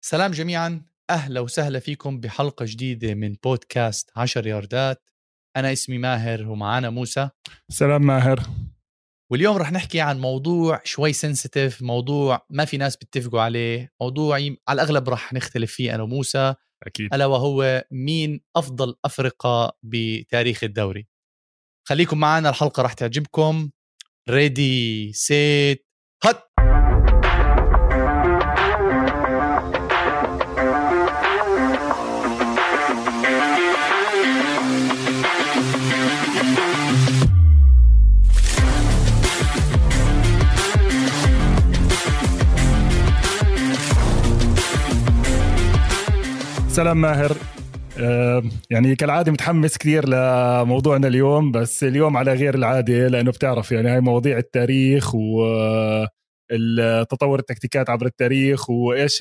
سلام جميعا، أهلا وسهلا فيكم بحلقة جديدة من بودكاست 10 ياردات. أنا اسمي ماهر ومعانا موسى. سلام ماهر. واليوم رح نحكي عن موضوع شوي سنسيتيف، موضوع ما في ناس بيتفقوا عليه، موضوع على الأغلب رح نختلف فيه أنا وموسى، أكيد. ألا وهو مين أفضل أفرقة بتاريخ الدوري. خليكم معنا، الحلقة رح تعجبكم. ريدي سيت هات. سلام ماهر. يعني كالعادة متحمس كثير لموضوعنا اليوم، بس اليوم على غير العادة لأنه بتعرف يعني هاي مواضيع التاريخ والتطور التكتيكات عبر التاريخ وإيش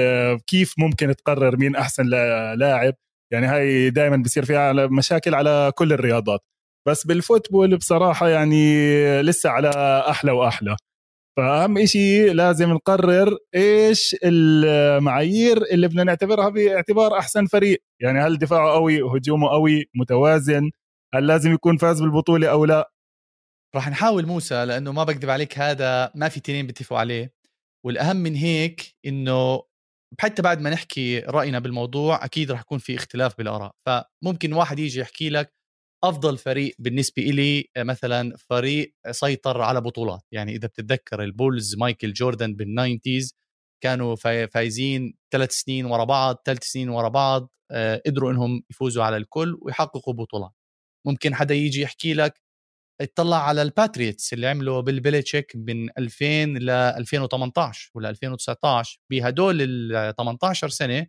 كيف ممكن تقرر مين أحسن لاعب. يعني هاي دائما بيصير فيها مشاكل على كل الرياضات، بس بالفوتبول بصراحة يعني لسه على أحلى وأحلى. فأهم إشي لازم نقرر إيش المعايير اللي بدنا نعتبرها باعتبار أحسن فريق. يعني هل دفاعه قوي، هجومه قوي، متوازن، هل لازم يكون فاز بالبطولة أو لا؟ رح نحاول موسى، لأنه ما بكذب عليك هذا ما في تنين بيتفقوا عليه، والأهم من هيك إنه حتى بعد ما نحكي رأينا بالموضوع أكيد رح يكون في اختلاف بالآراء. فممكن واحد يجي يحكي لك أفضل فريق بالنسبة إلي مثلا فريق سيطر على بطولات. يعني إذا بتتذكر البولز مايكل جوردن بالناينتيز كانوا فايزين 3 سنين ورا بعض، 3 سنين ورا بعض، قدروا إنهم يفوزوا على الكل ويحققوا بطولات. ممكن حدا يجي يحكي لك اطلع على الباتريتس اللي عملوا بالبيليتشيك من 2000 ل 2018 ولا 2019، بهدول ال 18 سنة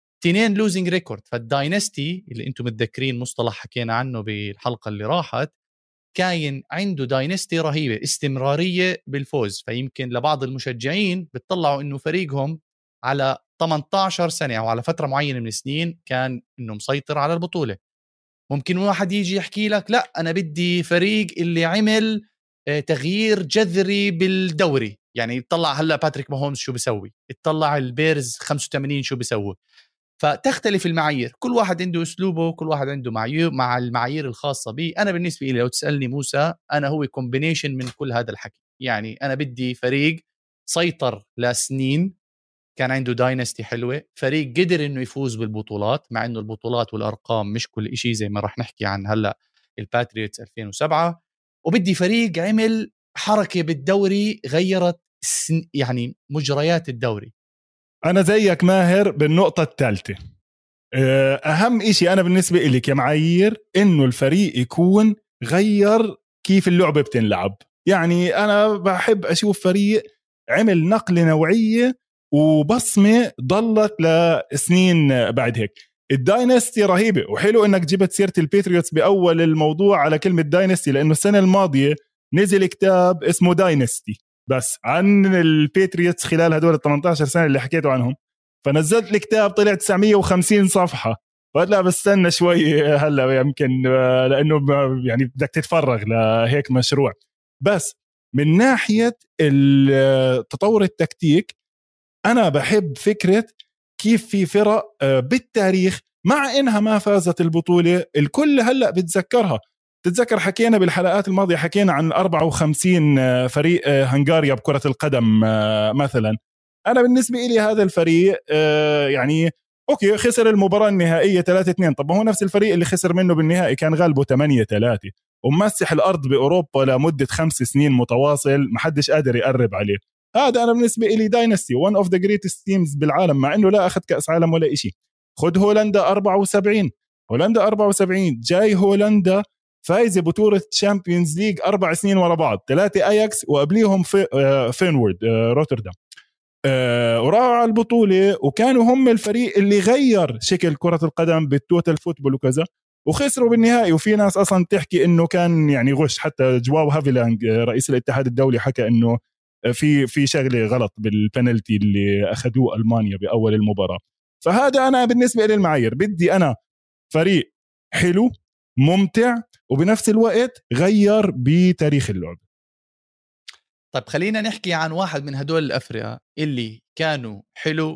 2 لوزنج ريكورد. فالداينستي اللي انتم متذكرين مصطلح حكينا عنه بالحلقة اللي راحت، كاين عنده داينستي رهيبة، استمرارية بالفوز. فيمكن لبعض المشجعين بتطلعوا انه فريقهم على 18 سنة او على فترة معينة من السنين كان انه مسيطر على البطولة. ممكن واحد يجي يحكي لك لا أنا بدي فريق اللي عمل تغيير جذري بالدوري. يعني يطلع هلأ باتريك ماهومز شو بيسوي، يطلع البيرز 85 شو بيسوي. فتختلف المعايير، كل واحد عنده أسلوبه، كل واحد عنده معايير مع المعايير الخاصة به. أنا بالنسبة لي لو تسألني موسى، أنا هو كومبينيشن من كل هذا الحكي. يعني أنا بدي فريق سيطر لسنين، كان عنده داينستي حلوة، فريق قدر انه يفوز بالبطولات، مع انه البطولات والارقام مش كل إشي زي ما رح نحكي عن هلا الباتريوتس 2007. وبدي فريق عمل حركة بالدوري غيرت يعني مجريات الدوري. أنا زيك ماهر بالنقطة الثالثة. أهم إشي أنا بالنسبة إلي كمعايير إنه الفريق يكون غير كيف اللعبة بتنلعب. يعني أنا بحب أشوف فريق عمل نقلة نوعية وبصمة ضلت لسنين بعد هيك. الداينستي رهيبة، وحلو انك جبت سيرة الباتريوتس بأول الموضوع على كلمة داينستي، لأنه السنة الماضية نزل كتاب اسمه داينستي بس عن الباتريوتس خلال هدول ال 18 سنة اللي حكيتوا عنهم. فنزلت الكتاب طلع 950 صفحة، فقلت لا بستنى شوي هلا يمكن لأنه يعني بدك تتفرغ لهيك مشروع. بس من ناحية التطور التكتيك أنا بحب فكرة كيف في فرق بالتاريخ مع إنها ما فازت البطولة الكل هلأ بتذكرها. تتذكر حكينا بالحلقات الماضية، حكينا عن 54 فريق هنغاريا بكرة القدم مثلا. أنا بالنسبة إلي هذا الفريق يعني أوكي خسر المباراة النهائية 3-2، طب هو نفس الفريق اللي خسر منه بالنهائي كان غالبه 8-3 ومسح الأرض بأوروبا لمدة 5 سنين متواصل محدش قادر يقرب عليه. هذا أنا بالنسبة إلي داينستي one of the greatest teams بالعالم، مع إنه لا أخذ كأس عالم ولا إشي. خد هولندا 74، هولندا 74 جاي هولندا فايزة بطولة تشامبيونز ليج 4 سنين ورا بعض، 3 أياكس وقبليهم فينورد روتردام، وراحوا على البطولة وكانوا هم الفريق اللي غير شكل كرة القدم بالتوتال فوتبول وكذا، وخسروا بالنهائي. وفي ناس أصلا تحكي إنه كان يعني غش، حتى جواو هافيلانج رئيس الاتحاد الدولي حكى إنه في شغله غلط بالبنالتي اللي اخذوه المانيا باول المباراه. فهذا انا بالنسبه لي المعايير، بدي انا فريق حلو ممتع وبنفس الوقت غير بتاريخ اللعب. طيب خلينا نحكي عن واحد من هدول الأفرقة اللي كانوا حلو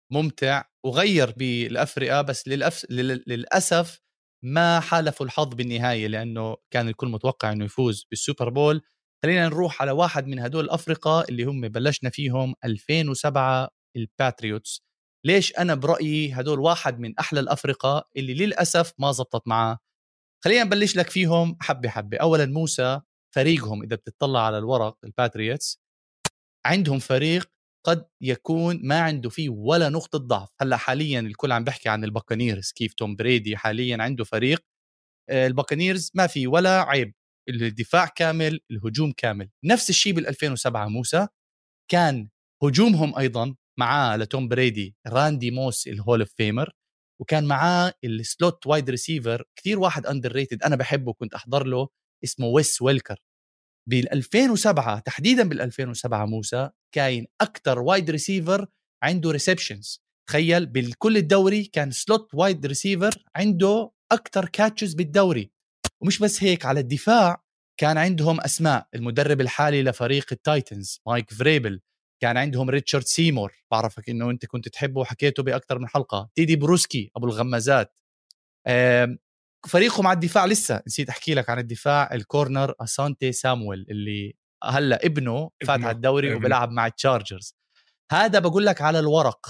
ممتع وغير بالأفرقة، بس للأسف ما حالفوا الحظ بالنهاية، لأنه كان الكل متوقع أنه يفوز بالسوبر بول. خلينا نروح على واحد من هدول الأفرقة اللي هم بلشنا فيهم 2007 الباتريوتس. ليش أنا برأيي هدول واحد من أحلى الأفرقة اللي للأسف ما زبطت معاه. خلينا نبلش لك فيهم حبة حبة. أولا موسى، فريقهم إذا بتطلع على الورق الباتريوتس عندهم فريق قد يكون ما عنده فيه ولا نقطة ضعف. هلا حاليا الكل عم بحكي عن الباكانيرز، كيف توم بريدي حاليا عنده فريق. الباكانيرز ما في ولا عيب، الدفاع كامل، الهجوم كامل. نفس الشيء بال2007 موسى، كان هجومهم أيضا معاه لتوم بريدي راندي موس الهول اوف فيمر، وكان معاه السلوت وايد ريسيفر كثير واحد اندر ريتد انا بحبه كنت احضر له، اسمه ويس ويلكر. بال2007 تحديدا بال2007 موسى كاين اكثر وايد ريسيفر عنده ريسبشنز. تخيل بالكل الدوري كان سلوت وايد ريسيفر عنده اكثر كاتشز بالدوري. ومش بس هيك، على الدفاع كان عندهم اسماء. المدرب الحالي لفريق التايتنز مايك فريبل، كان عندهم ريتشارد سيمور، بعرفك انه انت كنت تحبه وحكيته باكثر من حلقه. تيدي بروسكي ابو الغمازات. فريقهم على الدفاع لسه نسيت احكي لك عن الدفاع، الكورنر اسانتي سامويل اللي هلا ابنه فات على الدوري وبيلعب مع التشارجرز. هذا بقول لك على الورق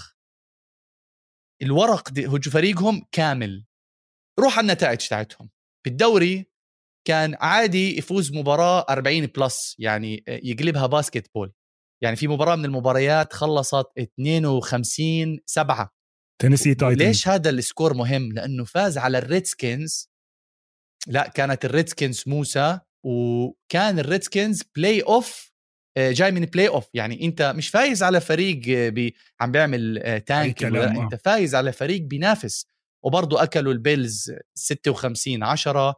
فريقهم كامل. روح على النتائج تاعتهم بالدوري، كان عادي يفوز مباراة 40 بلس، يعني يقلبها باسكت بول. يعني في مباراة من المباريات خلصت 52-7 تينيسي تايتنز. ليش هذا السكور مهم؟ لأنه فاز على الريدسكنز. لا، كانت الريدسكنز موسى، وكان الريدسكنز بلاي اوف، جاي من بلاي اوف. يعني انت مش فايز على فريق عم بيعمل تانك، لا انت فايز على فريق بينافس. وبرضو اكلوا البيلز 56-10.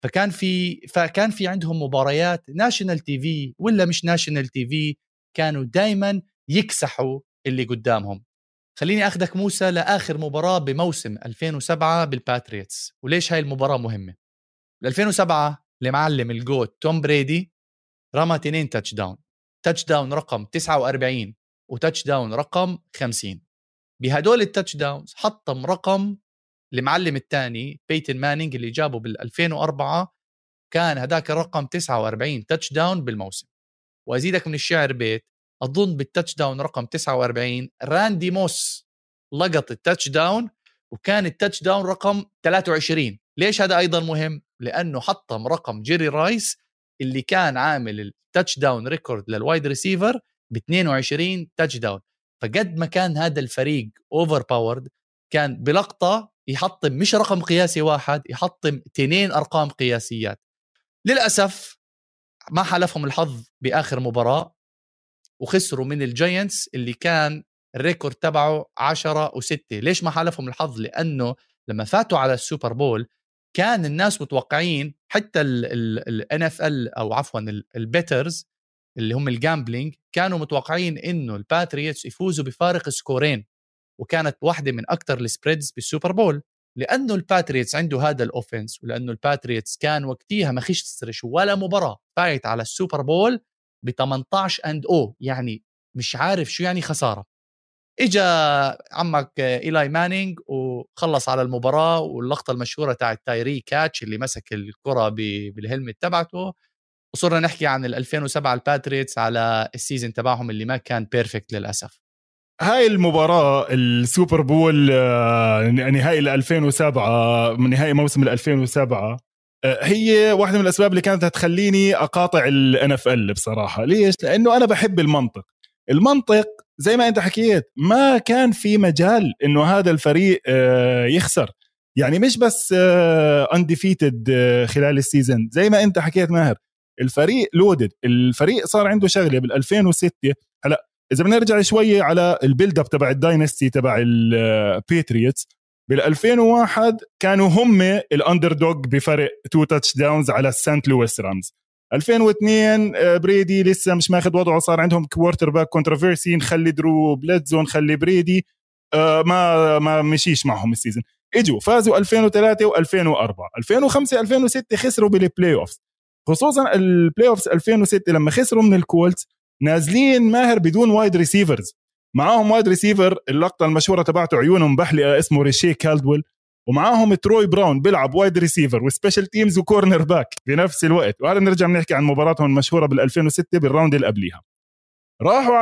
فكان في عندهم مباريات ناشونال تي في ولا مش ناشونال تي في، كانوا دايما يكسحوا اللي قدامهم. خليني أخذك موسى لآخر مباراة بموسم 2007 بالباتريتس، وليش هاي المباراة مهمة. 2007 لمعلم الجوت توم بريدي رمى 2 تاتش داون رقم 49 وتاتش داون رقم 50. بهدول التاتش داونز حطم رقم المعلم الثاني بيتن مانينج اللي جابه بال2004، كان هداك الرقم 49 تاتش داون بالموسم. وأزيدك من الشعر بيت، أظن بالتاتش داون رقم 49 راندي موس لقط التاتش داون، وكان التاتش داون رقم 23. ليش هذا أيضا مهم؟ لأنه حطم رقم جيري رايس اللي كان عامل التاتش داون ريكورد للوايد ريسيفر ب 22 تاتش داون. فقد ما كان هذا الفريق اوفر باورد، كان بلقطة يحطم مش رقم قياسي واحد، يحطم 2 أرقام قياسيات. للأسف ما حالفهم الحظ بآخر مباراة، وخسروا من الجاينتس اللي كان الريكورد تبعه 10-6. ليش ما حالفهم الحظ؟ لأنه لما فاتوا على السوبر بول كان الناس متوقعين، حتى ال NFL أو عفوا البيترز اللي هم الجامبلينج، كانوا متوقعين إنه الباتريوتس يفوزوا بفارق سكورين، وكانت واحدة من أكتر السبريدز بالسوبر بول. لأنه الباتريوتس عنده هذا الأوفنس، ولأنه الباتريوتس كان وقتها ما خسرش ولا مباراة، فايت على السوبر بول ب18-0، يعني مش عارف شو يعني خسارة. إجا عمك إيلاي مانينج وخلص على المباراة، واللقطة المشهورة تاعت تايري كاتش اللي مسك الكرة بالهلمت تبعته. وصرنا نحكي عن 2007 الباتريوتس على السيزن تبعهم اللي ما كان بيرفكت للأسف. هاي المباراة السوبر بول نهائي 2007 من نهائي موسم 2007 هي واحدة من الأسباب اللي كانت هتخليني أقاطع NFL بصراحة. ليش؟ لأنه أنا بحب المنطق زي ما أنت حكيت، ما كان في مجال إنه هذا الفريق يخسر. يعني مش بس undefeated خلال السيزن زي ما أنت حكيت ماهر، الفريق لودد. الفريق صار عنده شغلة بال2006. هلأ إذا بنرجع شوية على البيلد اب تبع الداينستي تبع البيتريوتس، بال2001 كانوا هم الاندردوغ بفرق 2 تاتش داونز على السانت لويس رامز. 2002 بريدي لسه مش ماخذ وضعه، صار عندهم كوارتر باك كونتروفيرسي، نخلي درو بليدزون نخلي بريدي، ما مشيش معهم السيزن. اجوا فازوا 2003 و2004. 2005 2006 خسروا بالبلاي اوفز، خصوصا البلاي اوفز 2006 لما خسروا من الكولتس، نازلين ماهر بدون وايد ريسيفرز. معاهم وايد ريسيفر اللقطه المشهوره تبعته عيونهم بحلقه اسمه ريشي كالدويل، ومعاهم تروي براون بيلعب وايد ريسيفر وسبيشال تيمز وكورنر باك بنفس الوقت. وهذا نرجع بنحكي عن مباراتهم المشهوره بال2006 بالراوند اللي قبليها. راحوا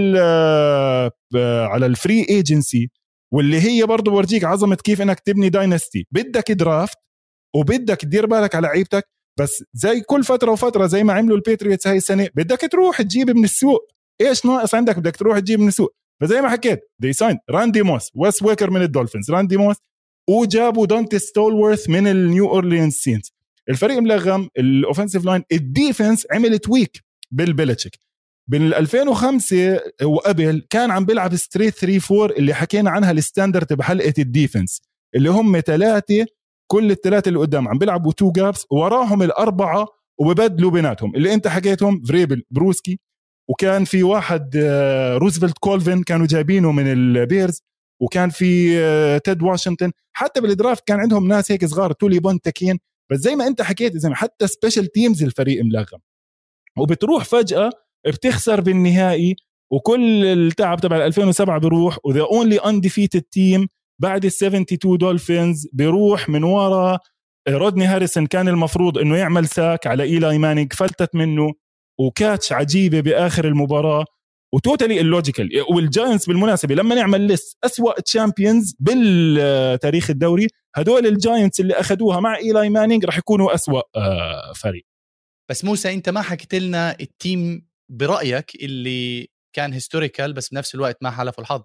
على الفري ايجنسي، واللي هي برضو ورجيك عظمه كيف انك تبني داينستي. بدك درافت وبدك تدير بالك على لعيبتك، بس زي كل فتره وفتره زي ما عملوا البيتريتس هاي السنه بدك تروح تجيب من السوق. ايش ناقص عندك؟ بدك تروح تجيب من السوق. فزي ما حكيت دي ساين راندي موس، ويس ويكر من الدولفينز، راندي موس، وجابوا دونتي ستولورث من النيو اورليانز سينز. الفريق ملغم، الاوفنسيف لاين، الديفنس عملت ويك بالبيلتشيك. بين 2005 وقبل كان عم بيلعب ستريت 3-4 اللي حكينا عنها الستاندرد بحلقه الديفنس، اللي هم 3 كل الثلاثه اللي قدام عم بيلعبوا 2 جابس وراهم الاربعه وببدلوا بيناتهم اللي انت حكيتهم، فريبل، بروسكي، وكان في واحد روزفلت كولفين كانوا جايبينه من البيرز، وكان في تيد واشنطن. حتى بالدرافت كان عندهم ناس هيك صغار، تولي بونتكين. بس زي ما انت حكيت، زي ما حتى سبيشال تيمز الفريق ملغم، وبتروح فجأة بتخسر بالنهائي، وكل التعب تبع 2007 بيروح. وذا اونلي انديفيتد تيم بعد ال72 دولفينز بيروح من ورا رودني هاريسون. كان المفروض انه يعمل ساك على إيلاي مانينج، فلتت منه، وكاتش عجيبة بآخر المباراة، وتوتالي اللوجيكال. والجاينتس بالمناسبة لما نعمل ليست أسوأ تشامبيونز بالتاريخ الدوري، هدول الجاينتس اللي أخدوها مع إيلاي مانينج رح يكونوا أسوأ فريق. بس موسى انت ما حكيت لنا التيم برأيك اللي كان هيستوريكال بس بنفس الوقت ما حلفوا الحظ.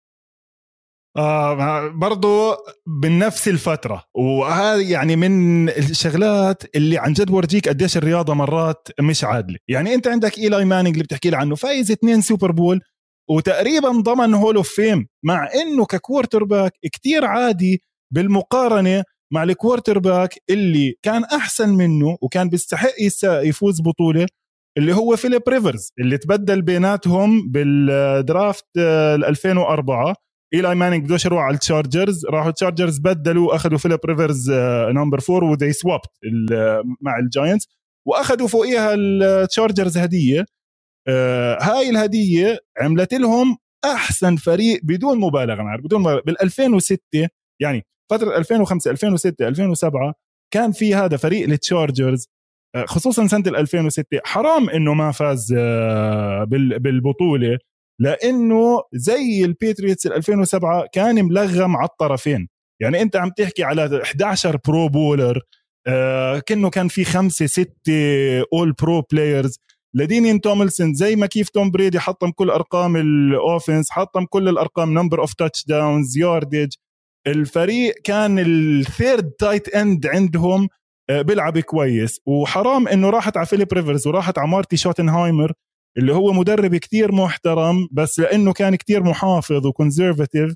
برضو بنفس الفترة، وهذا يعني من الشغلات اللي عن جد ورجيك قديش الرياضة مرات مش عادلة. يعني انت عندك إيلاي مانينج اللي بتحكي عنه فايز 2 سوبر بول وتقريبا ضمن هول اوف فيم، مع انه ككوارتر باك كتير عادي بالمقارنة مع الكوارتر باك اللي كان احسن منه وكان بيستحق يفوز بطولة، اللي هو فيليب ريفرز اللي تبدل بيناتهم بالدرافت 2004. إيلاي مانينج بدوش يروح على التشارجرز، راحوا التشارجرز بدلوا أخذوا فيليب ريفرز نمبر 4 وذي سوابت مع الجاينتس، وأخذوا فوقيها التشارجرز هدية. هاي الهدية عملت لهم أحسن فريق بدون مبالغة معه، بدون مبالغة. بال2006 يعني فترة 2005 2006 2007 كان في هذا فريق التشارجرز، خصوصا سنة 2006 حرام إنه ما فاز بالبطولة، لأنه زي البيتريتس 2007 كان ملغم على الطرفين. يعني أنت عم تحكي على 11 برو بولر، كأنه كان في 5-6 أول برو بلايرز. لدينين توملسون زي ما كيف توم بريدي حطم كل أرقام الأوفنس، حطم كل الأرقام، نمبر أوف تاتش داونز، ياردج. الفريق كان الثيرد تايت اند عندهم بيلعب كويس، وحرام إنه راحت على فيليب ريفرز وراحت على مارتي شوتنهايمر اللي هو مدرب كتير محترم، بس لأنه كان كتير محافظ وكونسيرفاتيف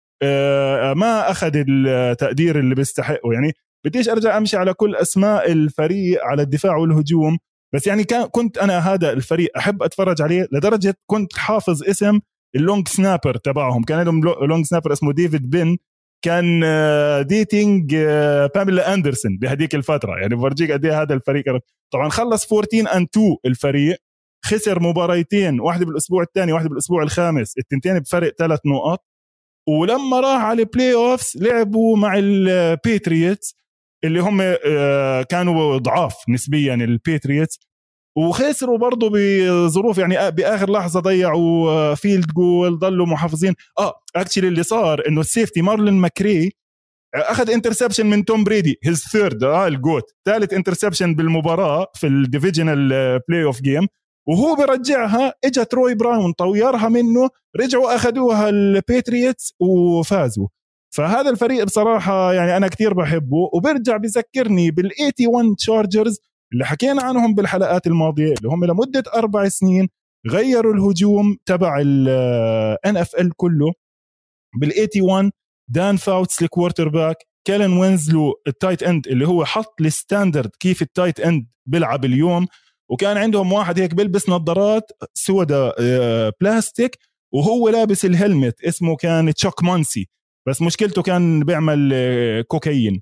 ما أخذ التقدير اللي بيستحقه. يعني بديش أرجع أمشي على كل أسماء الفريق على الدفاع والهجوم، بس يعني كنت أنا هذا الفريق أحب أتفرج عليه لدرجة كنت حافظ اسم اللونج سنابر تبعهم. كان لهم لونج سنابر اسمه ديفيد بين، كان ديتينج باميلا أندرسون بهديك الفترة. يعني برجيك قد ايه هذا الفريق. طبعا خلص 14-2 الفريق، خسر مباريتين، واحدة بالأسبوع الثاني واحدة بالأسبوع الخامس، التنتين بفرق 3 نقاط. ولما راح على البلاي أوفس لعبوا مع البيتريتس اللي هم كانوا ضعاف نسبيا البيتريتس، وخسروا برضو بظروف يعني بآخر لحظة ضيعوا فيلد جول، ضلوا محافظين. اكشلي اللي صار انه السيفتي مارلين ماكري اخذ انترسبشن من توم بريدي، هيز ثيرد الجوت، ثالث انترسبشن بالمباراة في الديفيجنال بلاي اوف جيم، وهو برجعها اجى تروي براون طويرها منه، رجعوا اخذوها البيتريتس وفازوا. فهذا الفريق بصراحة يعني انا كتير بحبه، وبرجع بذكرني بال81 تشارجرز اللي حكينا عنهم بالحلقات الماضية، اللي هم لمدة 4 سنين غيروا الهجوم تبع NFL كله. بال81 دان فاوتس الكوارتر باك، كيلن وينزلو التايت اند اللي هو حط الستاندرد كيف التايت اند بيلعب اليوم، وكان عندهم واحد هيك بيلبس نظارات سوداء بلاستيك وهو لابس الهلمت اسمه كان تشاك مانسي، بس مشكلته كان بيعمل كوكايين.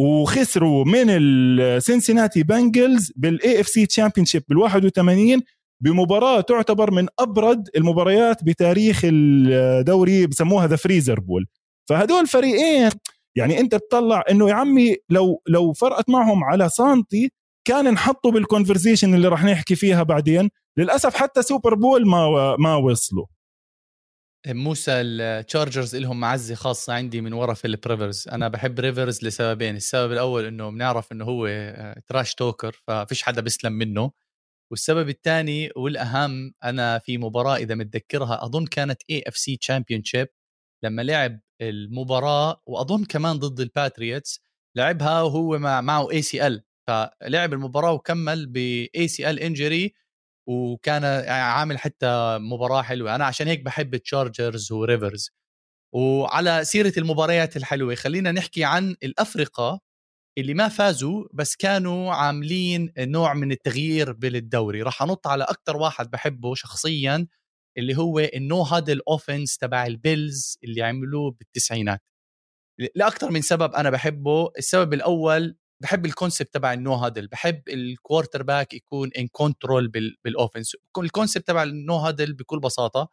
وخسروا من السينسيناتي بانجلز بالاي اف سي تشامبيونشيب بال81 بمباراة تعتبر من أبرد المباريات بتاريخ الدوري، بسموها ذا فريزر بول. فهدول فريقين يعني أنت بتطلع إنه يا عمي لو فرقت معهم على سانتي كان نحطوا بالكونفرزيشن اللي رح نحكي فيها بعدين. للأسف حتى سوبر بول ما وصلوا. موسى التشارجرز لهم معزة خاصة عندي من ورا فيليب ريفرز. أنا بحب ريفرز لسببين. السبب الأول إنه بنعرف إنه هو تراش توكر ففيش حدا بيسلم منه، والسبب الثاني والأهم أنا في مباراة إذا متذكرها أظن كانت AFC Championship لما لعب المباراة وأظن كمان ضد الباتريوتس لعبها وهو معه ACL، فلعب المباراة وكمل ب ACL injury وكان عامل حتى مباراة حلوة. أنا عشان هيك بحب التشارجرز وريفرز. وعلى سيرة المباريات الحلوة خلينا نحكي عن الأفرقة اللي ما فازوا بس كانوا عاملين نوع من التغيير بالدوري. راح أنط على أكتر واحد بحبه شخصيا اللي هو النو هادل أوفنس تبع البيلز اللي عملوه بالتسعينات لأكتر من سبب. أنا بحبه. السبب الأول بحب الكونسبت تبع النو هادل، بحب الكوارتر باك يكون ان كنترول بالاوفنس. الكونسبت تبع النو هادل بكل بساطه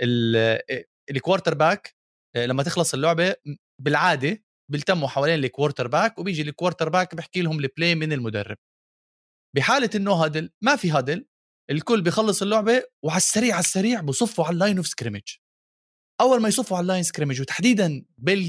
الكوارتر باك لما تخلص اللعبه بالعاده بيلتموا حوالين الكوارتر باك وبيجي الكوارتر باك بيحكي لهم البلاي من المدرب. بحاله النو هادل ما في هادل، الكل بيخلص اللعبه وعلى السريع بصفوا على اللاين اوف سكريمج. اول ما يصفوا على اللاين سكريمج وتحديدا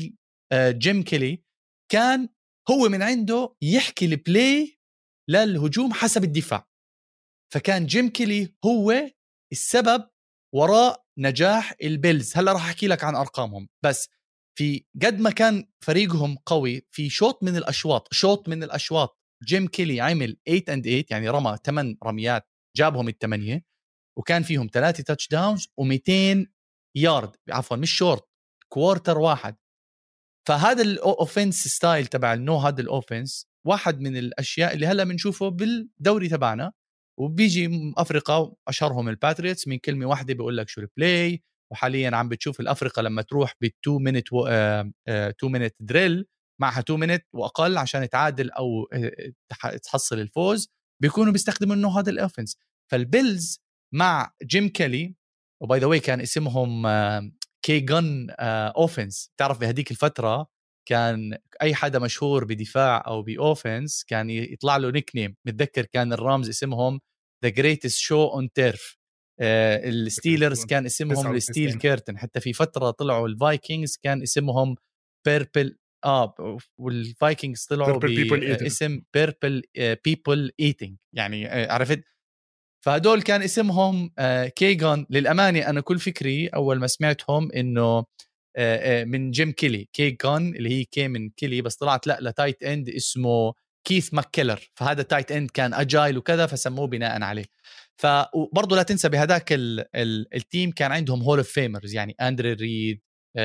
جيم كيلي كان هو من عنده يحكي البلاي للهجوم حسب الدفاع. فكان جيم كيلي هو السبب وراء نجاح البيلز. هلا راح احكي لك عن ارقامهم، بس في قد ما كان فريقهم قوي في شوط من الاشواط جيم كيلي عمل 8 يعني رمى 8 رميات جابهم الثمانية وكان فيهم 3 تاتش داونز و200 يارد، عفوا مش شورت، كوارتر واحد. فهذا الاوفنس ستايل تبع النو هذا الاوفنس واحد من الاشياء اللي هلا بنشوفه بالدوري تبعنا. وبيجي افريقيا اشهرهم الباتريوتس من كلمه واحده بيقول لك شو البلاي. وحاليا عم بتشوف الافريقيا لما تروح ب2 مينت 2 مينت دريل معها 2 مينت واقل عشان تعادل او تحصل الفوز بيكونوا بيستخدموا انه هذا الاوفنس. فالبيلز مع جيم كيلي وباي ذا واي كان اسمهم كي جن اوفنس. تعرف بهديك الفتره كان اي حدا مشهور بدفاع او باوفنس كان يطلع له نيك نيم. متذكر كان الرامز اسمهم ذا جريتست شو اون تيرف. الستيلرز كان اسمهم الستيل كيرتن. حتى في فتره طلعوا الفايكنجز كان اسمهم بيربل والفايكنجز طلعوا باسم بيربل بيبل ايتينج يعني عرفت. فهدول كان اسمهم كيغان. للأمانة أنا كل فكري أول ما سمعتهم إنه من جيم كيلي كيغان اللي هي كي من كيلي، بس طلعت لا لتايت اند اسمه كيث ماككيلر. فهذا تايت اند كان اجايل وكذا فسموه بناء عليه. فبرضه لا تنسى بهداك التيم كان عندهم هول اوف فيمرز يعني اندري ريد،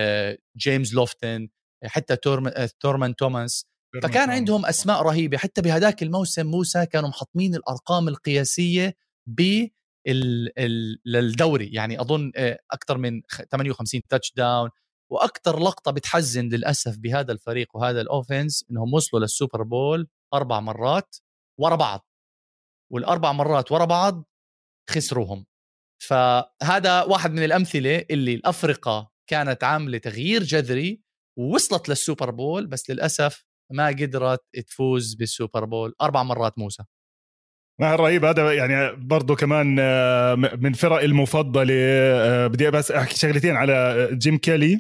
جيمس لوفتن، حتى تورمان توماس. فكان عندهم أسماء رهيبة. حتى بهداك الموسم موسى كانوا محطمين الأرقام القياسية للدوري يعني أظن أكثر من 58 تاتش داون. وأكثر لقطة بتحزن للأسف بهذا الفريق وهذا الأوفنس إنهم وصلوا للسوبر بول 4 مرات ورا بعض، والأربع مرات ورا بعض خسروهم. فهذا واحد من الأمثلة اللي الأفرقة كانت عاملة تغيير جذري ووصلت للسوبر بول بس للأسف ما قدرت تفوز بالسوبر بول 4 مرات موسى. ما رهيب هذا يعني. برضو كمان من فرق المفضلة. بدي بس أحكي شغلتين على جيم كيلي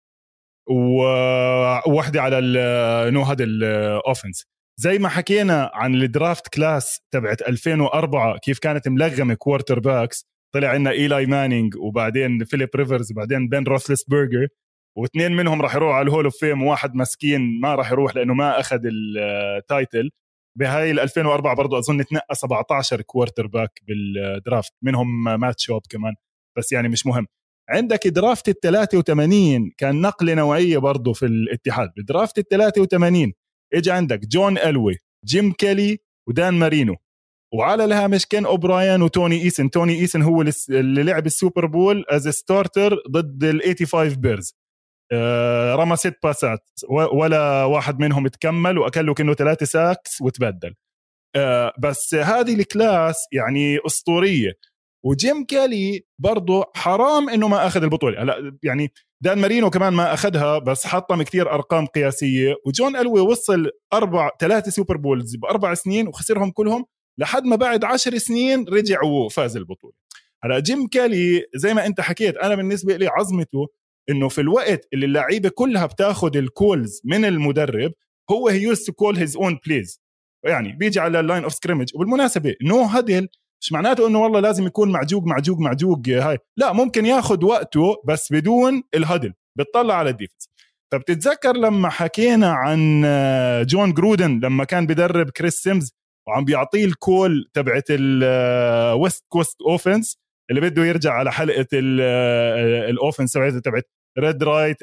وواحدة على نو هذا الأوفنس. زي ما حكينا عن الدرافت كلاس تبعت 2004 كيف كانت ملغمة كوارتر باكس. طلع عنا إيلاي مانينج وبعدين فيليب ريفرز وبعدين بين روثلسبرجر، واثنين منهم راح يروح على الهول اوف فيم وواحد مسكين ما راح يروح لأنه ما أخذ التايتل. بهاي 2004 برضو أظن تنقى 17 كوارتر باك بالدرافت منهم مات شوب كمان، بس يعني مش مهم. عندك درافت 83 كان نقلة نوعية برضو في الاتحاد. بدرافت 83 اجى عندك جون ألوي، جيم كيلي، ودان مارينو، وعلى الهامش كين أوبراين وتوني إيسن. توني إيسن هو اللي لعب السوبر بول از ستارتر ضد ال 85 بيرز. رمى 6 باسات ولا واحد منهم تكمل وأكله كأنه 3 ساكس وتبدل. بس هذه الكلاس يعني أسطورية. وجيم كالي برضو حرام انه ما اخذ البطوله. هلا يعني دان مارينو كمان ما اخذها بس حطم كتير ارقام قياسيه، وجون ألوي وصل 3 سوبر بولز ب4 سنين وخسرهم كلهم لحد ما بعد 10 سنين رجع وفاز البطوله. هلا جيم كالي زي ما انت حكيت، انا بالنسبه لي عظمته انه في الوقت اللي اللعيبه كلها بتاخذ الكولز من المدرب هو هي يوست تو كول هيز اون بليز، يعني بيجي على اللاين اوف سكريمج. وبالمناسبه نو هدل مش معناته انه والله لازم يكون معجوق هاي، لا، ممكن ياخد وقته بس بدون الهدل، بتطلع على الديفنس. فبتتذكر لما حكينا عن جون جرودن لما كان بدرب كريس سيمز وعم بيعطيه الكول تبعت الويست كوست اوفنس اللي بده يرجع على حلقه الاوفنس تبعت ريد رايت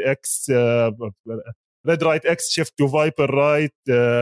اكس شيفت تو فايبر رايت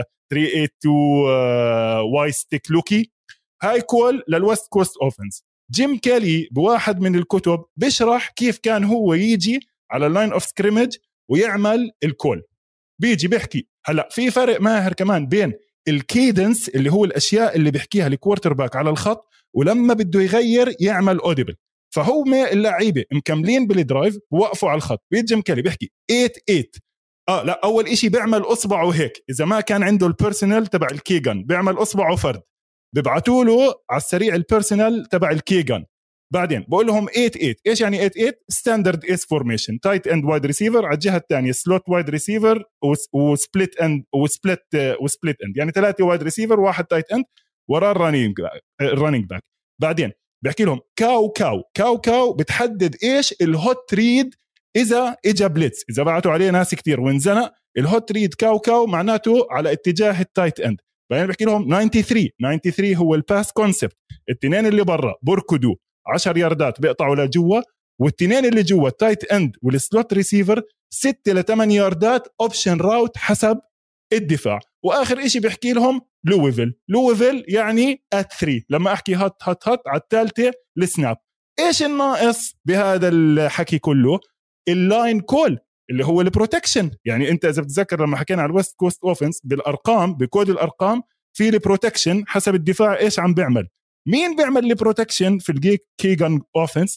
382 واي ستيك لوكي، هاي كول للويست كوست اوفنس. جيم كالي بواحد من الكتب بيشرح كيف كان هو يجي على اللاين اوف سكريمج ويعمل الكول. بيجي بيحكي هلا في فرق ماهر كمان بين الكيدنس اللي هو الاشياء اللي بيحكيها الكوارتر باك على الخط ولما بده يغير يعمل اوديبل. فهو اللعيبه مكملين بالدرايف ووقفوا على الخط، بيجي جيم كالي بيحكي 8 لا، اول إشي بيعمل اصبعه هيك، اذا ما كان عنده البيرسونال تبع الكيغان بيعمل اصبعه فرد، ببعتوا له على السريع البيرسونال تبع الكيغان. بعدين بقول لهم 8 ايش يعني 8 ستاندرد اس فورميشن، تايت اند وايد ريسيفر على الجهه الثانيه سلوت وايد ريسيفر وسبليت اند وسبليت اند، يعني 3 وايد ريسيفر واحد تايت اند وراه الرننج باك. بعدين بحكي لهم كاو بتحدد ايش الهوت ريد، اذا اجى بليتس، اذا بعتوا عليه ناس كتير وانزنق الهوت ريد كاو معناته على اتجاه التايت اند. بعدين بحكي لهم 93 هو الباس كونسبت، الاثنين اللي برا بركضوا 10 ياردات بيقطعوا لجوا، والاثنين اللي جوا التايت اند والسلوت ريسيفر 6 ل 8 ياردات اوبشن راوت حسب الدفاع. واخر اشي بحكي لهم لويفل يعني ات 3، لما احكي هات على الثالثه السناب. ايش الناقص بهذا الحكي كله؟ اللاين كول اللي هو البروتكشن. يعني انت اذا بتذكر لما حكينا على الويست كوست اوفنس بالارقام بكود الارقام في البروتكشن حسب الدفاع ايش عم بيعمل، مين بيعمل البروتكشن في كيغان اوفنس؟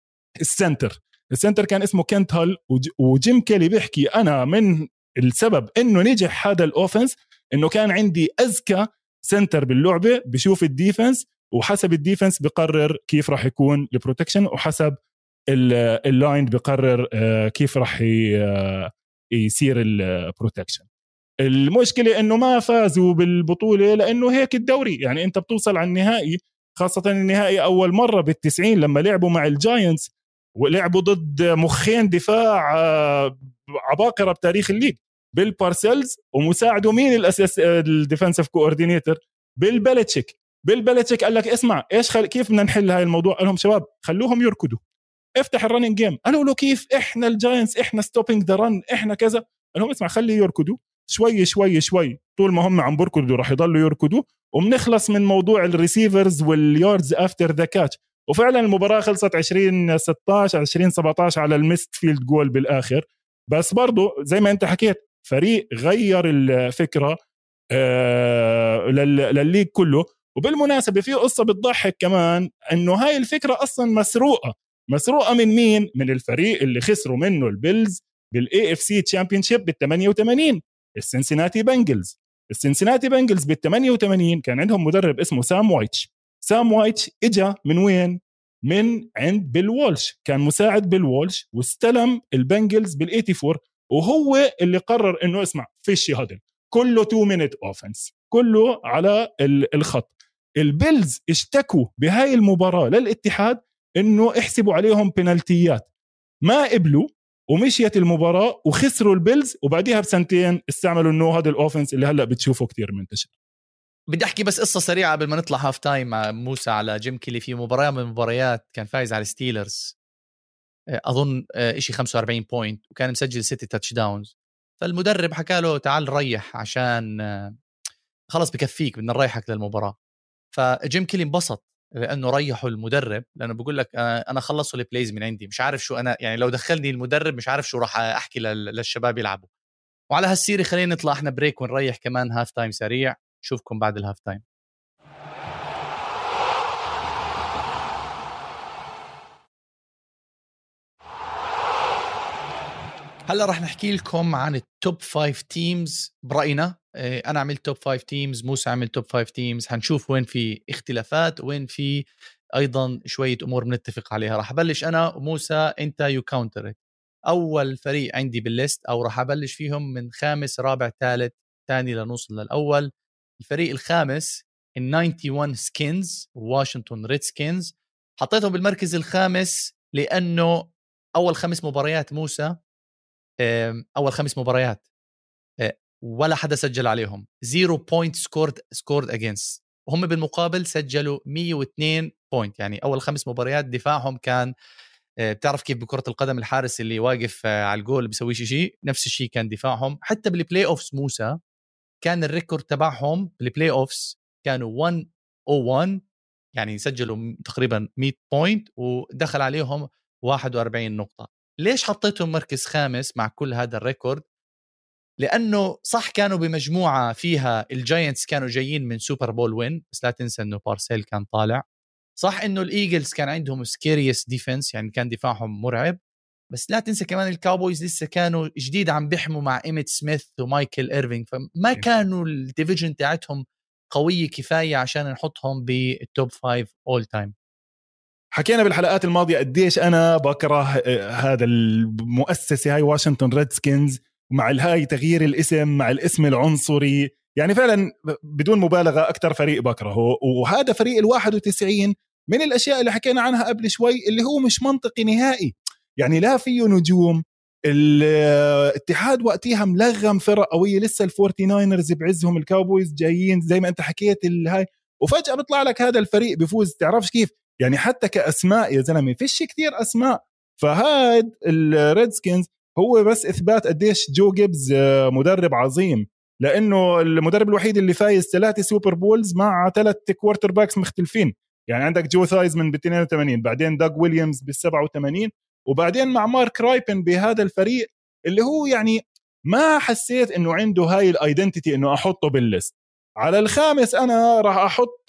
السنتر كان اسمه كنت هال. وجيم كيلي بيحكي انا من السبب انه نجح هذا الاوفنس انه كان عندي اذكى سنتر باللعبه، بشوف الديفنس وحسب الديفنس بقرر كيف راح يكون البروتكشن، وحسب اللاين بقرر كيف راح يصير البروتكشن. المشكلة انه ما فازوا بالبطولة لانه هيك الدوري، يعني انت بتوصل على النهائي، خاصة النهائي اول مرة بال90 لما لعبوا مع الجاينتس ولعبوا ضد مخين دفاع عباقرة بتاريخ الليج، بيل بارسلز ومساعده مين الاساس الديفنسيف كوردينيتور بيل قال لك اسمع كيف بدنا نحل هاي الموضوع؟ قال لهم شباب خلوهم يركضوا، افتح الرننج جيم. قالوا له كيف؟ احنا الجاينتس احنا ستوبينج ذا رن احنا كذا. قال لهم اسمع خلي يركضوا شوي طول ما هم عم بركضوا راح يضلوا يركضوا، وبنخلص من موضوع الريسيفرز والياردز افتر ذا كاتش. وفعلا المباراة خلصت 2016 2017 على الميست فيلد جول بالاخر. بس برضو زي ما انت حكيت فريق غير الفكرة للليج كله. وبالمناسبة في قصة بتضحك كمان، انه هاي الفكرة اصلا مسروقة من مين؟ من الفريق اللي خسروا منه البيلز بالاي اف سي تشامبيونشيب بال88، السنسيناتي بنجلز بال88 كان عندهم مدرب اسمه سام وايتش اجا من وين؟ من عند بيل وولش، كان مساعد بيل وولش واستلم البنجلز بال84، وهو اللي قرر انه اسمع فيش هدل كله 2 minute offense كله على الخط. البيلز اشتكوا بهاي المباراة للاتحاد انه احسبوا عليهم بنالتيات، ما قبلوا ومشيت المباراة وخسروا البيلز، وبعديها بسنتين استعملوا النو هذا الاوفنس اللي هلا بتشوفه كتير منتشر. بدي احكي بس قصة سريعة قبل ما نطلع هاف تايم مع موسى على جيم كيلي. في مباراة من المباريات كان فايز على الستيلرز اظن اشي 45 بوينت وكان مسجل 6 تاتش داونز، فالمدرب حكى له تعال ريح عشان خلص بكفيك بدنا نريحك للمباراة. فجيم كيلي انبسط لانه ريحوا المدرب، لانه بقول لك انا خلصوا البلايز من عندي، مش عارف شو انا يعني لو دخلني المدرب مش عارف شو راح احكي للشباب يلعبوا. وعلى هالسيرة خلينا نطلع احنا بريك ونريح كمان هاف تايم سريع. شوفكم بعد الهاف تايم. هلا راح نحكي لكم عن التوب 5 تيمز برأينا. انا عملت توب 5 تيمز، موسى عمل توب 5 تيمز. هنشوف وين في اختلافات وين في ايضا شويه امور بنتفق عليها. راح ابلش انا وموسى، انت يو كاونتر. اول فريق عندي بالليست، او راح ابلش فيهم من خامس رابع ثالث ثاني لنوصل للاول. الفريق الخامس ال 91 سكينز، واشنطن ريد سكينز. حطيته بالمركز الخامس لانه اول 5 مباريات موسى، اول 5 مباريات ولا حدا سجل عليهم. 0 بوينت سكورد اجينست، وهم بالمقابل سجلوا 102 بوينت. يعني اول 5 مباريات دفاعهم كان، بتعرف كيف بكرة القدم الحارس اللي واقف على الجول بيسويش شيء، نفس الشيء كان دفاعهم. حتى بالبلاي اوفس موسى كان الريكورد تبعهم بالبلاي اوفس كانوا 101، يعني سجلوا تقريبا 100 بوينت ودخل عليهم 41 نقطة. ليش حطيتهم مركز خامس مع كل هذا الريكورد؟ لأنه صح كانوا بمجموعة فيها الجاينتس كانوا جايين من سوبر بول وين، بس لا تنسى أنه بارسيل كان طالع. صح أنه الإيجلز كان عندهم سكيريس ديفنس، يعني كان دفاعهم مرعب. بس لا تنسى كمان الكاوبويز لسه كانوا جديد عم بيحموا مع إيميت سميث ومايكل إيرفينج، فما كانوا الديفيجن تاعتهم قوية كفاية عشان نحطهم بالتوب 5 all time. حكينا بالحلقات الماضية قديش أنا بكره هذا المؤسسة هاي واشنطن ريدسكنز، مع الهاي تغيير الاسم مع الاسم العنصري. يعني فعلا بدون مبالغة أكتر فريق بكرهه، وهذا فريق 91 من الأشياء اللي حكينا عنها قبل شوي اللي هو مش منطقي نهائي. يعني لا فيه نجوم، الاتحاد وقتها ملغم فرق قوية، لسه الفورتي ناينرز بعزهم، الكاوبويز جايين زي ما انت حكيت الهاي، وفجأة بيطلع لك هذا الفريق بيفوز. تعرفش كيف؟ يعني حتى كأسماء يا زلمة فيش كتير أسماء. فهاد الريدسكنز هو بس إثبات قديش جو جيبز مدرب عظيم، لأنه المدرب الوحيد اللي فايز 3 سوبر بولز مع 3 كوارتر باكس مختلفين. يعني عندك جو ثايزمن ب 82، بعدين داغ ويليامز بال 87، وبعدين مع مارك رايبن بهذا الفريق اللي هو يعني ما حسيت انه عنده هاي الايدنتيتي انه احطه بالليست. على الخامس انا راح احط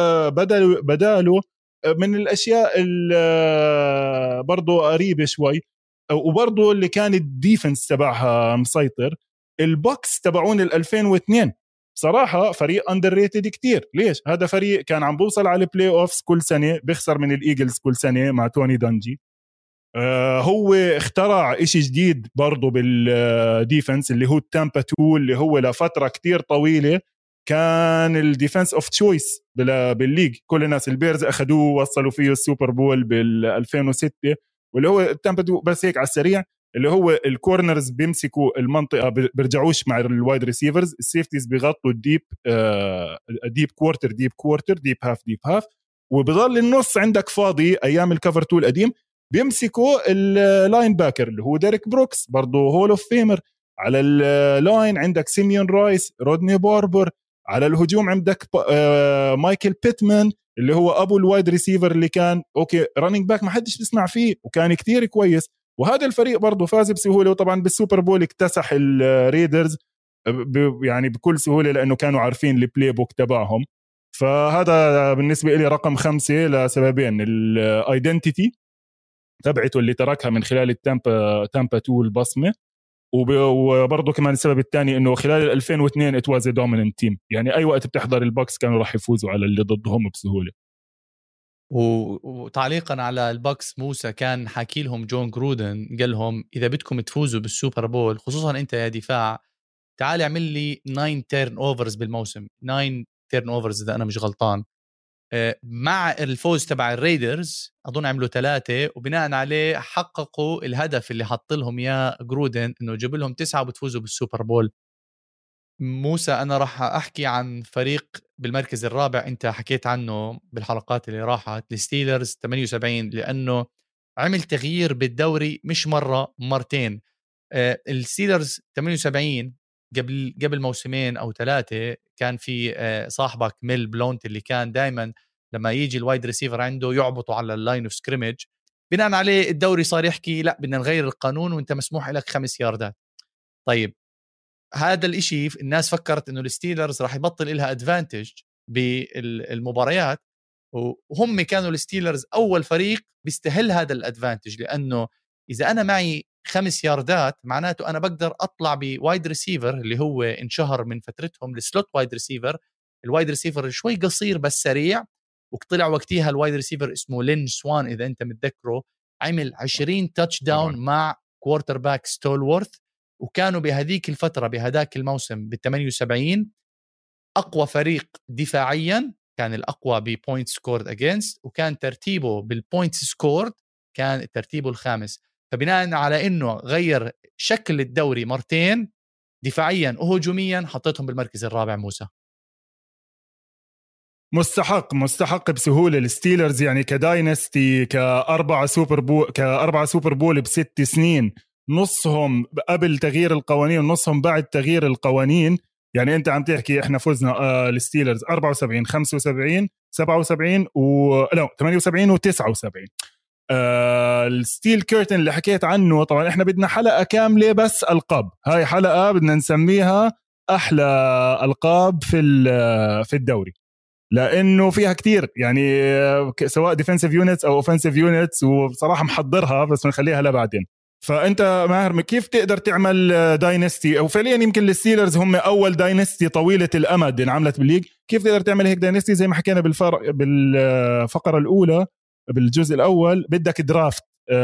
بداله من الاشياء اللي برضو قريبه شوي، وبرضو اللي كان الديفنس تبعها مسيطر، البوكس تبعون 2002. بصراحة فريق اندر ريتد كتير. ليش؟ هذا فريق كان عم بوصل على البلاي اوفس كل سنة، بيخسر من الايجلز كل سنة مع توني دانجي. هو اخترع اشي جديد برضو بالديفنس اللي هو التامبا 2، اللي هو لفترة كتير طويلة كان الديفنس اوف تشويس بالليج. كل الناس البيرز اخذوه ووصلوا فيه السوبر بول بال 2006، واللي هو التامبا 2. بس هيك على السريع، اللي هو الكورنرز بيمسكوا المنطقة بيرجعوش مع الوايد ريسيفرز، السيفتيز بيغطوا الديب ديب كوارتر ديب هاف، وبضل النص عندك فاضي ايام الكفر 2 القديم. بيمسكوا اللاين باكر اللي هو ديريك بروكس، برضه هول اوف فيمر. على اللاين عندك سيميون رايس، رودني باربر. على الهجوم عندك مايكل بيتمان اللي هو ابو الوايد ريسيفر اللي كان اوكي رانينج باك ما حدش بيسمع فيه وكان كتير كويس. وهذا الفريق برضه فاز بسهوله، وطبعا بالسوبر بول اكتسح الريدرز يعني بكل سهوله لانه كانوا عارفين البلاي بوك تبعهم. فهذا بالنسبه لي رقم 5 لسببين: الايدنتيتي تبعته اللي تركها من خلال تامبا 2 البصمه، وبرضه كمان السبب الثاني انه خلال 2002 it was a dominant team. يعني اي وقت بتحضر البوكس كانوا راح يفوزوا على اللي ضدهم بسهوله. وتعليقا على البوكس، موسى كان حاكي لهم جون جرودن قال لهم اذا بدكم تفوزوا بالسوبر بول، خصوصا انت يا دفاع، تعال اعمل لي 9 تيرن اوفرز بالموسم، 9 تيرن اوفرز اذا انا مش غلطان. مع الفوز تبع الريدرز اظن عملوا 3، وبناء عليه حققوا الهدف اللي حط لهم يا جرودن انه يجيب لهم 9 وبتفوزوا بالسوبر بول. موسى انا راح احكي عن فريق بالمركز الرابع انت حكيت عنه بالحلقات اللي راحت، الستيلرز 78، لانه عمل تغيير بالدوري مش مره مرتين. الستيلرز 78 قبل موسمين او 3 كان في صاحبك ميل بلونت اللي كان دائما لما يجي الوايد ريسيفر عنده يعبطوا على اللاين اوف سكريمج. بناء عليه الدوري صار يحكي لا بدنا نغير القانون وانت مسموح لك 5 ياردات. طيب هذا الاشي الناس فكرت انه الستيلرز راح يبطل لها ادفانتج بالمباريات، وهم كانوا الستيلرز اول فريق بيستهل هذا الادفانتج، لانه اذا انا معي 5 ياردات معناته أنا بقدر أطلع بوايد ريسيفر اللي هو انشهر من فترتهم السلوت وايد ريسيفر، الوايد ريسيفر شوي قصير بس سريع. وطلع وقتها الوايد ريسيفر اسمه لين سوان إذا أنت متذكره، عمل 20 تاتش داون مع كوارتر باك ستولورث، وكانوا بهذيك الفترة بهداك الموسم بال78 أقوى فريق دفاعيا، كان الأقوى ببوينت سكورد أجينست، وكان ترتيبه بالبوينت سكورد كان ترتيبه الخامس. فبناء على إنه غير شكل الدوري مرتين دفاعيا وهجوميا حطيتهم بالمركز الرابع. موسى مستحق بسهولة الستيلرز، يعني كداينستي كأربعة سوبر بول ب6 سنين، نصهم قبل تغيير القوانين ونصهم بعد تغيير القوانين. يعني انت عم تحكي احنا فزنا الستيلرز 74 75 77 78 و79. الستيل كيرتن اللي حكيت عنه، طبعا احنا بدنا حلقة كاملة بس ألقاب، هاي حلقة بدنا نسميها أحلى ألقاب في الدوري، لأنه فيها كتير يعني سواء ديفنسيف يونتس أو أوفنسيف يونتس، وبصراحة محضرها بس بنخليها لبعدين. فأنت ماهر كيف تقدر تعمل داينستي، أو فعليا يمكن الستيلرز هم أول داينستي طويلة الأمد انعملت بالليج، كيف تقدر تعمل هيك داينستي؟ زي ما حكينا بالفقرة الأولى بالجزء الأول، بدك درافت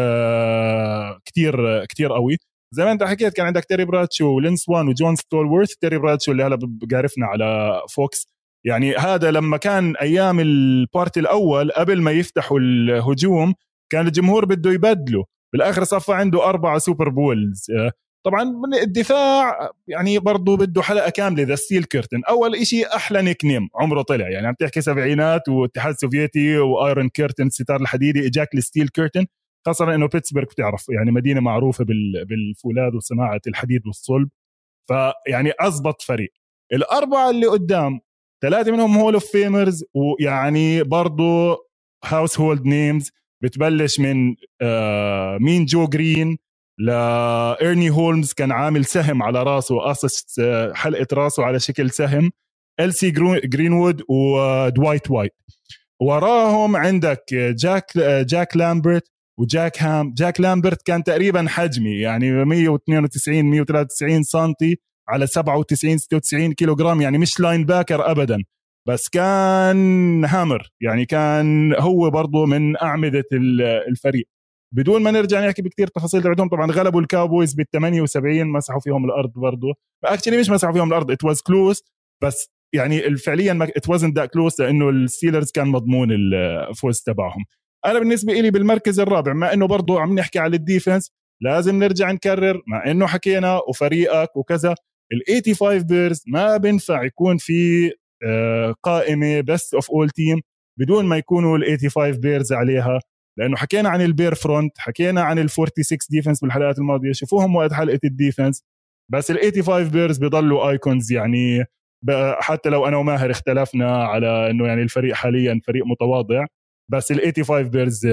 كتير قوي. زي ما انت حكيت كان عندك تيري براتشو ولينس وان وجون ستولورث. تيري براتشو اللي هلا بقارفنا على فوكس، يعني هذا لما كان ايام البارت الاول قبل ما يفتحوا الهجوم كان الجمهور بده يبدله، بالاخر صفى عنده 4 سوبر بولز. طبعا الدفاع يعني برضو بده حلقه كامله. ذا ستيل كيرتن اول إشي احلى نيك نيم عمره طلع، يعني عم تحكي سبعينات واتحاد سوفيتي وايرون كيرتن الستار الحديدي، اجاك الستيل كيرتن، خاصه انه بيتسبرغ بتعرف يعني مدينه معروفه بالفولاذ وصناعه الحديد والصلب، فيعني أزبط فريق. الأربعة اللي قدام 3 منهم هول اوف فيمرز، ويعني برضو هاوس هولد نيمز، بتبلش من مين جو جرين لإيرني هولمز كان عامل سهم على راسه، قصص حلقة راسه على شكل سهم، إلسي جرينوود ودوايت وايت. وراهم عندك جاك لامبرت وجاك هام. جاك لامبرت كان تقريبا حجمي يعني 192 193 سنتي على 97 96 كيلوغرام، يعني مش لاين باكر أبدا، بس كان هامر، يعني كان هو برضو من أعمدة الفريق. بدون ما نرجع نحكي بكتير تفاصيل تبعتهم، طبعا غلبوا الكاوبويز بال78، مسحوا فيهم الأرض برضو، اكشلي مش مسحوا فيهم الأرض، it was close، بس يعني فعليا it wasn't that close لأنه الستيلرز كان مضمون الفوز تبعهم. أنا بالنسبة إلي بالمركز الرابع، مع إنه برضو عم نحكي على الديفنس، لازم نرجع نكرر مع إنه حكينا وفريقك وكذا، ال85 بيرز ما بنفع يكون في قائمة best of all team بدون ما يكونوا ال85 بيرز عليها، لأنه حكينا عن البير فرونت، حكينا عن ال46 ديفنس بالحلقات الماضية، شوفوهم وقت حلقة الديفنس، بس ال85 بيرز بيضلوا ايكونز. يعني حتى لو أنا وماهر اختلفنا على إنه يعني الفريق حاليا فريق متواضع، بس ال85 بيرز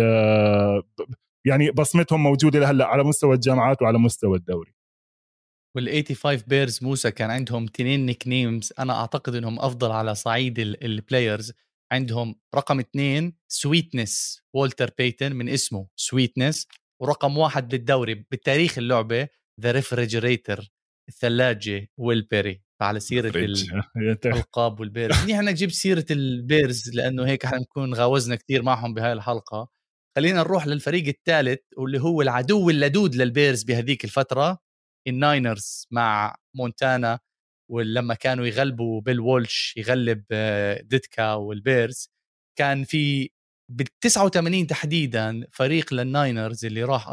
يعني بصمتهم موجودة لهلا على مستوى الجامعات وعلى مستوى الدوري. وال85 بيرز موسى كان عندهم 2 نيك نيمز أنا أعتقد إنهم أفضل على صعيد البلايرز. عندهم رقم 2 سويتنس، والتر بيتن من اسمه سويتنس، ورقم 1 بالدوري بالتاريخ اللعبة ذا ريفريجريتر، الثلاجة، ويل بيري. فعلى سيرة الألقاب والبيرز نحن نجيب سيرة البيرز لأنه هيك احنا نكون غاوزنا كتير معهم بهاي الحلقة. خلينا نروح للفريق الثالث واللي هو العدو اللدود للبيرز بهذيك الفترة، الناينرز مع مونتانا. ولما كانوا يغلبوا بيل وولش يغلب ديتكا والبيرز، كان في بال89 تحديدا فريق للناينرز اللي راح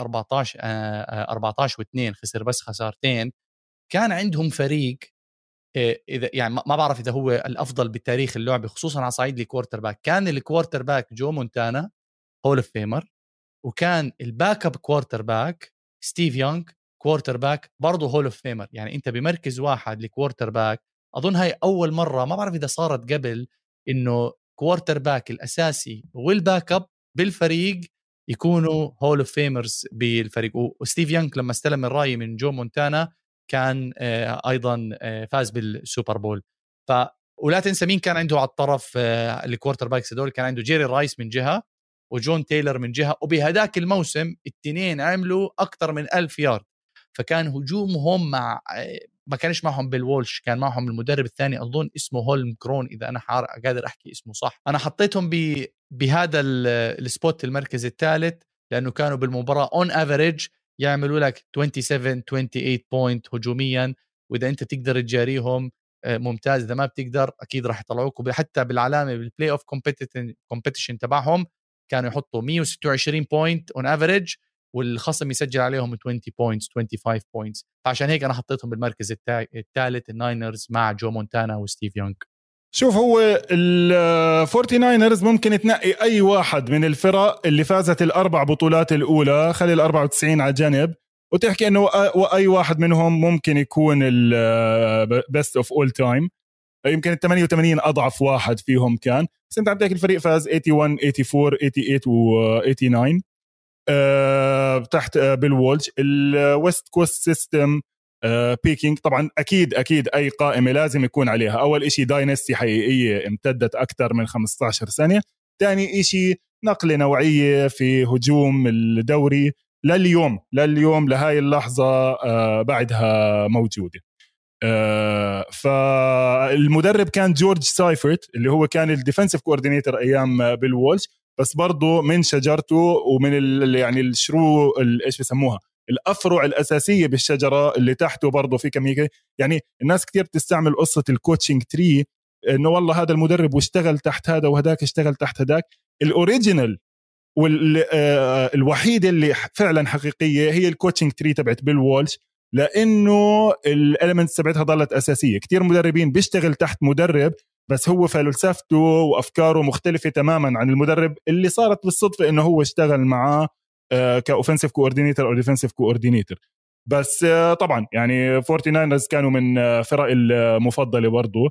14 و2 خسر بس خسارتين. كان عندهم فريق إذا يعني ما بعرف إذا هو الأفضل بالتاريخ اللعبة خصوصا على صعيد الكوارتر باك. كان الكوارتر باك جو مونتانا هول اوف فيمر، وكان الباك اب كوارتر باك ستيف يونغ كوارتر باك برضه هول اوف فيمر. يعني انت بمركز واحد لكوارتر باك، اظن هاي اول مره، ما بعرف اذا صارت قبل، انه كوارتر باك الاساسي والباك اب بالفريق يكونوا هول اوف فيمرز بالفريق. وستيف يونغ لما استلم الراي من جو مونتانا كان ايضا فاز بالسوبر بول. ولا تنسى مين كان عنده على الطرف الكوارتر باكس هذول، كان عنده جيري رايس من جهه وجون تايلر من جهة. وبهداك الموسم التنين عملوا أكتر من 1000 يارد. فكان هجومهم مع ما كانش معهم بيل وولش، كان معهم المدرب الثاني أظن اسمه هولم كرون إذا أنا قادر أحكي اسمه صح. أنا حطيتهم بهذا السبوت المركز الثالث لأنه كانوا بالمباراة on average يعملوا لك 27-28 بوينت هجوميا، وإذا أنت تقدر تجاريهم ممتاز، إذا ما بتقدر أكيد راح يطلعوك. حتى بالعلامة بالبلاي أوف كومبيتيشن تبعهم كانوا يحطوا 126 بوينت on average والخصم يسجل عليهم 20 بوينتس 25 بوينتس. فعشان هيك أنا حطيتهم بالمركز الثالث الناينرز مع جو مونتانا وستيف يونغ. شوف، هو الفورتي ناينرز ممكن تنقي أي واحد من الفرق اللي فازت الأربع بطولات الأولى، خلي 94 على جنب، وتحكي أنه أي واحد منهم ممكن يكون البست أوف أول تايم. يمكن 88 أضعف واحد فيهم كان، بس أنت عندك الفريق فاز 81 84 88 و 89 تحت بيل وولش. الويست كوست سيستم بيكينج طبعا أكيد أي قائمة لازم يكون عليها أول إشي داينستي حقيقية امتدت أكثر من 15 سنة، تاني إشي نقلة نوعية في هجوم الدوري لليوم لهاي اللحظة بعدها موجودة. فالمدرب كان جورج سايفرت اللي هو كان الديفنسيف كوردينيتور أيام بيل وولش، بس برضو من شجرته ومن يعني الشرو ايش بسموها الأفرع الأساسية بالشجرة اللي تحته برضو في كمية. يعني الناس كتير بتستعمل قصة الكوتشنج تري، إنه والله هذا المدرب واشتغل تحت هذا وهداك اشتغل تحت هداك. الأوريجينال والوحيدة اللي فعلا حقيقية هي الكوتشنج تري تبعت بيل وولش، لأنه الاليمنتس تبعتها ضلت أساسية. كتير مدربين بيشتغل تحت مدرب بس هو فلسفته وأفكاره مختلفة تماما عن المدرب اللي صارت بالصدفة إنه هو اشتغل معاه كأوفنسيف كوردينيتور أو ديفنسيف كوردينيتور. بس طبعا يعني 49ers كانوا من فرق المفضلة برضو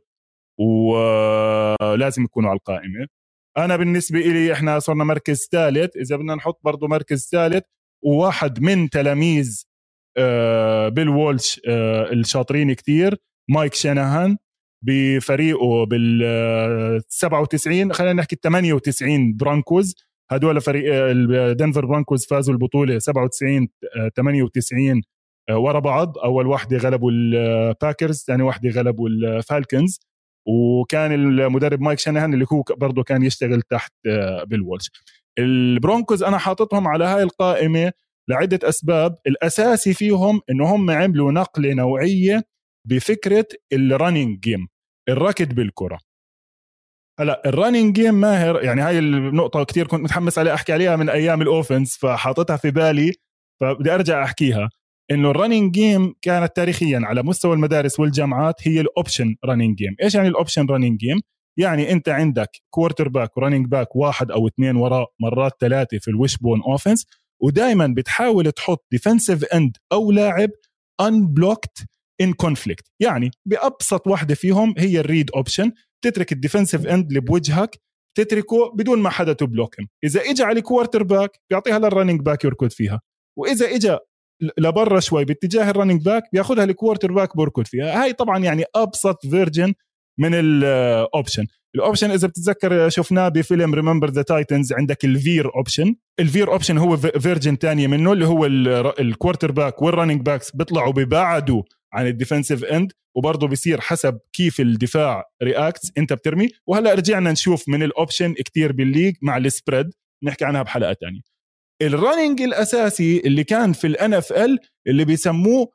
ولازم يكونوا على القائمة. أنا بالنسبة إلي إحنا صرنا مركز ثالث، إذا بدنا نحط برضو مركز ثالث وواحد من تلاميذ بيل وولش الشاطرين كتير، مايك شاناهان بفريقه بال97 خلينا نحكي 98 برانكوز. هدول فريق الدنفر برانكوز فازوا البطولة 97 98 ورا بعض، أول واحدة غلبوا الباكرز، ثاني واحدة غلبوا الفالكنز، وكان المدرب مايك شاناهان اللي هو برضه كان يشتغل تحت بيل وولش. البرونكوز أنا حاططهم على هاي القائمة لعدة أسباب. الأساسي فيهم إنهم عملوا نقلة نوعية بفكرة الرننج جيم، الركض بالكرة. هلا الرننج جيم ماهر، يعني هاي النقطة كتير كنت متحمس عليها أحكي عليها من أيام الأوفنس فحاطتها في بالي فبدي أرجع أحكيها. إنه الرننج جيم كانت تاريخيا على مستوى المدارس والجامعات هي الأوبشن رننج جيم. إيش يعني الأوبشن رننج جيم؟ يعني أنت عندك كوارتر باك ورننج باك واحد أو اثنين وراء، مرات ثلاثة في الويشبون أوفنس، ودايما بتحاول تحط ديفنسيف اند أو لاعب unblocked in conflict. يعني بأبسط واحدة فيهم هي الريد أوبشن، تترك الديفنسيف اند اللي بوجهك تتركه بدون ما حدا تبلوكهم. إذا إجا على كوارتر باك بيعطيها للرننج باك يركض فيها، وإذا إجا لبرا شوي باتجاه الرننج باك بياخدها الكوارتر باك بركض فيها. هاي طبعا يعني أبسط فيرجن من الأوبشن. الأوبشن إذا بتتذكر شفناه بفيلم ريممبر ذا تايتنز، عندك الفير أوبشن. الفير أوبشن هو فيرجن تانية منه اللي هو الكوارتر باك والرننج باكس بيطلعوا ببعدوا عن الديفنسيف اند، وبرضه بيصير حسب كيف الدفاع رياكتس انت بترمي. وهلا رجعنا نشوف من الاوبشن كتير بالليج مع السبريد، نحكي عنها بحلقة تانية. الرننج الاساسي اللي كان في الان اف ال اللي بيسموه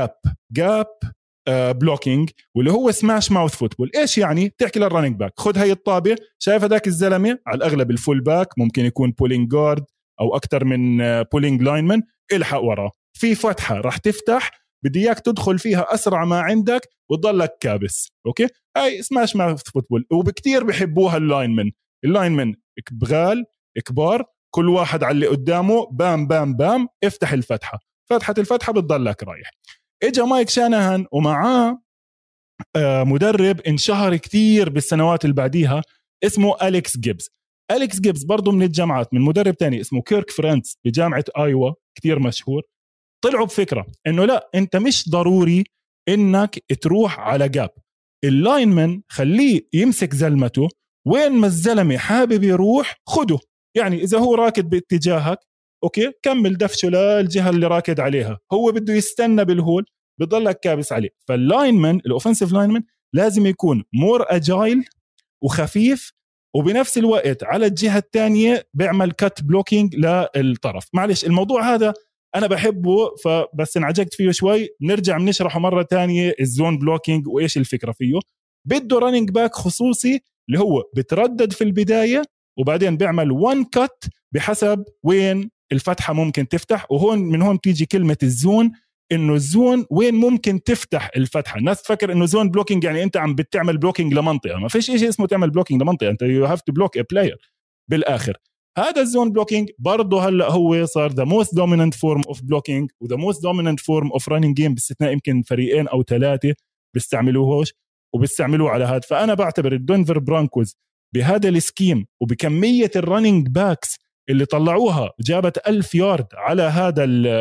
جاب بلوكينج، واللي هو سماش ماوث فوتبول. ايش يعني؟ تحكي للرننج باك خد هاي الطابة، شايف هذاك الزلمة على الاغلب الفول باك، ممكن يكون بولينج جارد او اكتر من بولينج لاينمن، الحق وراه في فتحة راح تفتح، بدي اياك تدخل فيها اسرع ما عندك وتضلك كابس. اوكي، هاي سماش ماوث فوتبول، وبكتير بيحبوها اللاينمن بغال كبار، كل واحد على اللي قدامه بام بام بام، افتح الفتحة بتضلك رايح. اجا مايك شاناهان ومعاه مدرب انشهر كتير بالسنوات اللي بعديها اسمه أليكس جيبز برضو من الجامعات، من مدرب تاني اسمه كيرك فرانتس بجامعة آيوا كتير مشهور. طلعوا بفكرة انه لا، انت مش ضروري انك تروح على جاب، اللاينمن خليه يمسك زلمته، وين ما الزلمة حابب يروح خده. يعني اذا هو راكد باتجاهك اوكي كمل دفشه للجهه اللي راكد عليها، هو بده يستنى بالهول بضلك كابس عليه. فاللاينمن الاوفنسيف لاينمن لازم يكون مور اجايل وخفيف، وبنفس الوقت على الجهه الثانيه بيعمل كات بلوكينج للطرف. معلش الموضوع هذا انا بحبه، فبس انعجقت فيه شوي، نرجع بنشرحه مره تانية الزون بلوكينج وايش الفكره فيه. بده رانينج باك خصوصي اللي هو بتردد في البدايه وبعدين بيعمل وان كات بحسب وين الفتحه ممكن تفتح. وهون من هون تيجي كلمه الزون، انه الزون وين ممكن تفتح الفتحه. الناس تفكر انه زون بلوكينج يعني انت عم بتعمل بلوكينج لمنطقه، ما فيش شيء اسمه تعمل بلوكينج لمنطقه، انت يو هاف تو بلوك ا بلاير بالاخر. هذا الزون بلوكينج برضه هلا هو صار the most dominant form of blocking و the most dominant form of running game، باستثناء يمكن فريقين او ثلاثه بيستعملوهوش وبيستعملوه على هذا. فانا بعتبر الدنفر برانكوز بهذا السكيم وبكميه الرننج باكس اللي طلعوها جابت 1000 يارد على هذا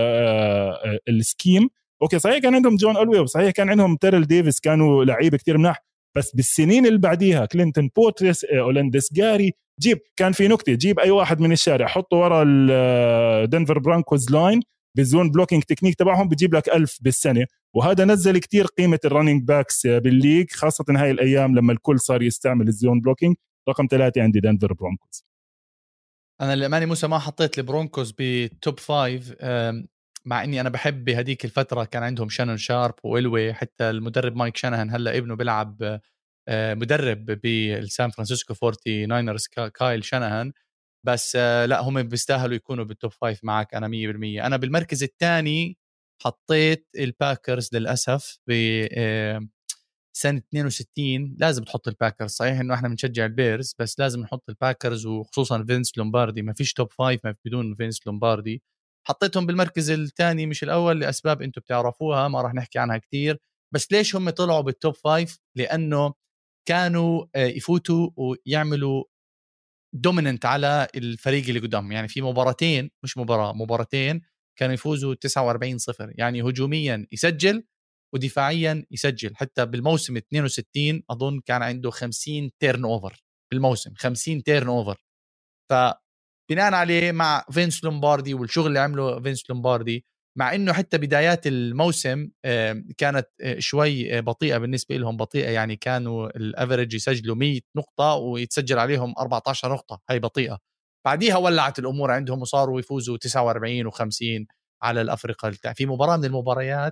السكيم. اوكي صحيح كان عندهم جون ألوي وصحيح كان عندهم تيرل ديفيس كانوا لعيبه كتير مناح، بس بالسنين اللي بعديها كلينتون بوتريس أولندس جاري، جيب كان في نكته، جيب اي واحد من الشارع حطه ورا الدنفر برانكوز لاين بالزون بلوكينج تكنيك تبعهم بيجيب لك 1000 بالسنه. وهذا نزل كتير قيمه الرننج باكس بالليج، خاصه هاي الايام لما الكل صار يستعمل الزون بلوكينج. رقم 3 عندي دنفر برونكوز. انا للامانه موسى ما حطيت البرونكوز بتوب 5، مع اني انا بحب بهديك الفتره كان عندهم شانون شارب وإلوي، حتى المدرب مايك شانهان هلا ابنه بيلعب مدرب بالسان فرانسيسكو 49رز كايل شانهان. بس لا هم بيستاهلوا يكونوا بالتوب 5 معك انا 100%. انا بالمركز الثاني حطيت الباكرز للاسف ب سنة 62. لازم تحط الباكرز، صحيح انه احنا بنشجع البيرز بس لازم نحط الباكرز، وخصوصا فينس لومباردي. ما فيش توب 5 ما بدون فينس لومباردي. حطيتهم بالمركز الثاني مش الاول لاسباب انتم بتعرفوها ما راح نحكي عنها كتير. بس ليش هم طلعوا بالتوب 5؟ لانه كانوا يفوتوا ويعملوا دوميننت على الفريق اللي قدام. يعني في مباراتين، مش مباراتين كانوا يفوزوا 49-0، يعني هجوميا يسجل ودفاعيا يسجل. حتى بالموسم 62 أظن كان عنده 50 تيرن أوفر بالموسم، 50 تيرن أوفر. فبناء عليه مع فينس لومباردي والشغل اللي عمله فينس لومباردي، مع انه حتى بدايات الموسم كانت شوي بطيئة بالنسبة لهم، بطيئة يعني كانوا الافريج يسجلوا 100 نقطة ويتسجل عليهم 14 نقطة، هاي بطيئة. بعديها ولعت الامور عندهم وصاروا يفوزوا 49 و50 على الافريقيا. في مباراة من المباريات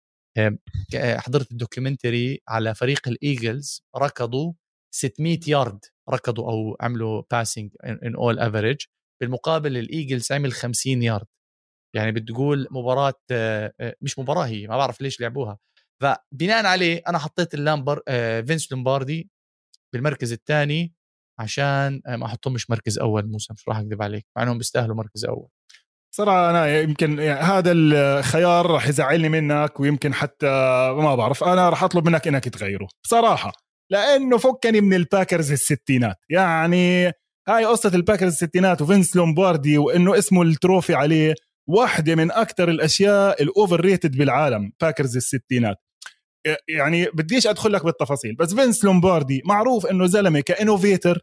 حضرت الدوكيومنتري على فريق الايجلز، ركضوا 600 يارد، ركضوا او عملوا باسنج ان اول افريج، بالمقابل الايجلز عمل 50 يارد. يعني بتقول مباراة مش مباراة، هي ما بعرف ليش لعبوها. فبناء عليه أنا حطيت فينس لومباردي بالمركز الثاني عشان ما أحطهم مش مركز أول. موسى مش راح أكذب عليك، مع أنهم بيستاهلوا مركز أول صراحة. أنا يمكن هذا الخيار راح يزعلني منك، ويمكن حتى ما بعرف، أنا راح أطلب منك إنك تغيره بصراحة، لأنه فكني من الباكرز الستينات. يعني هاي قصة الباكرز الستينات وفينس لومباردي وإنه اسمه التروفي عليه، واحدة من أكتر الأشياء الأوفر ريتد بالعالم باكرز الستينات. يعني بديش أدخل لك بالتفاصيل، بس فينس لومباردي معروف إنه زلمة كإنوفيتر،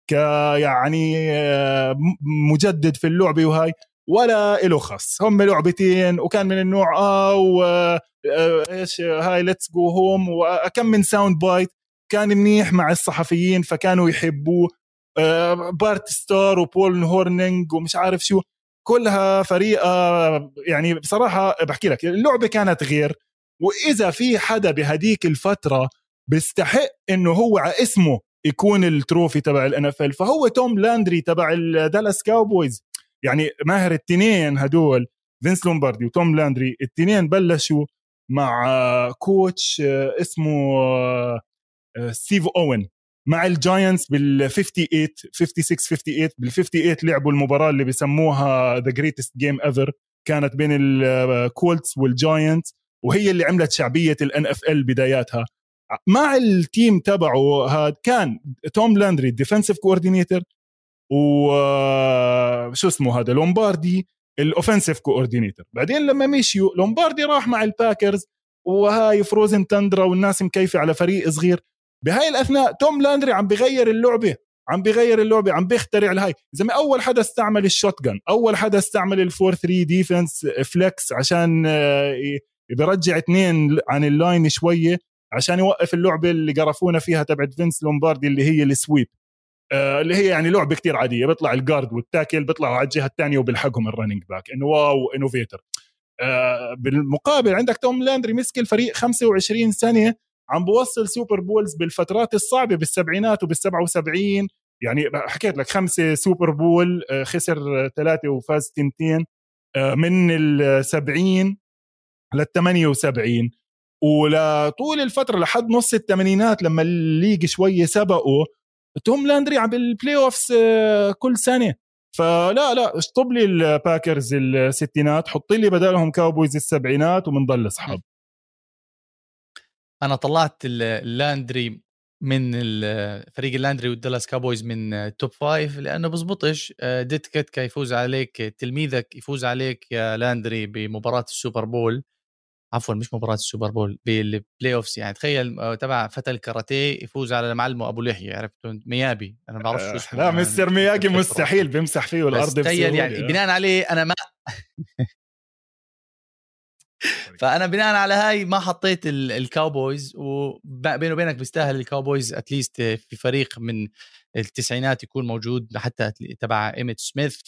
يعني مجدد في اللعبة، وهاي ولا إله خص. هم لعبتين وكان من النوع إيش هاي ليتس جو هوم، وكم من ساوند بايت كان منيح مع الصحفيين فكانوا يحبوه. بارت ستار وبول هورنينج ومش عارف شو، كلها فريقة. يعني بصراحة بحكي لك اللعبة كانت غير. وإذا في حدا بهديك الفترة بيستحق إنه هو على اسمه يكون التروفي تبع الNFL فهو توم لاندري تبع الدالاس كاوبويز. يعني ماهر التنين هدول فينس لومباردي وتوم لاندري، التنين بلشوا مع كوتش اسمه ستيف أوين مع الجاينتس بال58 56 58 بال58 لعبوا المباراة اللي بيسموها The Greatest Game Ever، كانت بين الكولتس والجاينتس، وهي اللي عملت شعبية الNFL بداياتها. مع التيم تبعه هاد كان توم لاندري ديفنسيف كوردينيتور، وشو اسمه هذا لومباردي الاوفنسيف كوردينيتور. بعدين لما مشيوا لومباردي راح مع الباكرز وهاي فروزن تندرا والناس مكيفة على فريق صغير. بهاي الأثناء توم لاندري عم بغير اللعبة، عم بيغير اللعبه، عم بيخترع الهاي. زي ما اول حدا استعمل الشوت جن، اول حدا استعمل الفور 3 ديفنس فليكس عشان بيرجع 2 عن اللاين شويه عشان يوقف اللعبه اللي قرفونا فيها تبعت فينس لومباردي اللي هي السويب، اللي هي يعني لعبه كتير عاديه، بيطلع الجارد والتاكل بيطلعوا على الجهه الثانيه وبيلحقهم الرننج باك، انه واو انوفيتر. بالمقابل عندك توم لاندري مسك الفريق 25 سنه، عم بوصل سوبر بولز بالفترات الصعبه بالسبعينات وبال77، يعني حكيت لك 5 سوبر بول، خسر 3 وفاز 2 من ال70 لل78، ولطول الفتره لحد نص الثمانينات لما الليج شويه سبقوا توم لاندري عم بالبلاي اوفس كل سنه. فلا اشطب لي الباكرز الستينات، حط لي بدالهم كاوبويز السبعينات ومنضل اصحاب. انا طلعت اللاندري من فريق اللاندري والدالاس كابويز من توب 5 لانه بزبطش ديتكت يفوز عليك، تلميذك يفوز عليك يا لاندري بمباراه السوبر بول، عفوا مش مباراة السوبر بول، بالبلاي اوفس. يعني تخيل تبع فتى الكاراتيه يفوز على معلمه ابو لحيه، عرفتوا ميابي، انا ما بعرفش شو اسمه. لا مستر مياجي مستحيل بيمسح فيه الارض تخيل يعني بناء عليه انا ما فانا بناء على هاي ما حطيت الكاوبويز، وبينه وبينك بيستاهل الكاوبويز اتليست في فريق من التسعينات يكون موجود، حتى تبع ايميت سميث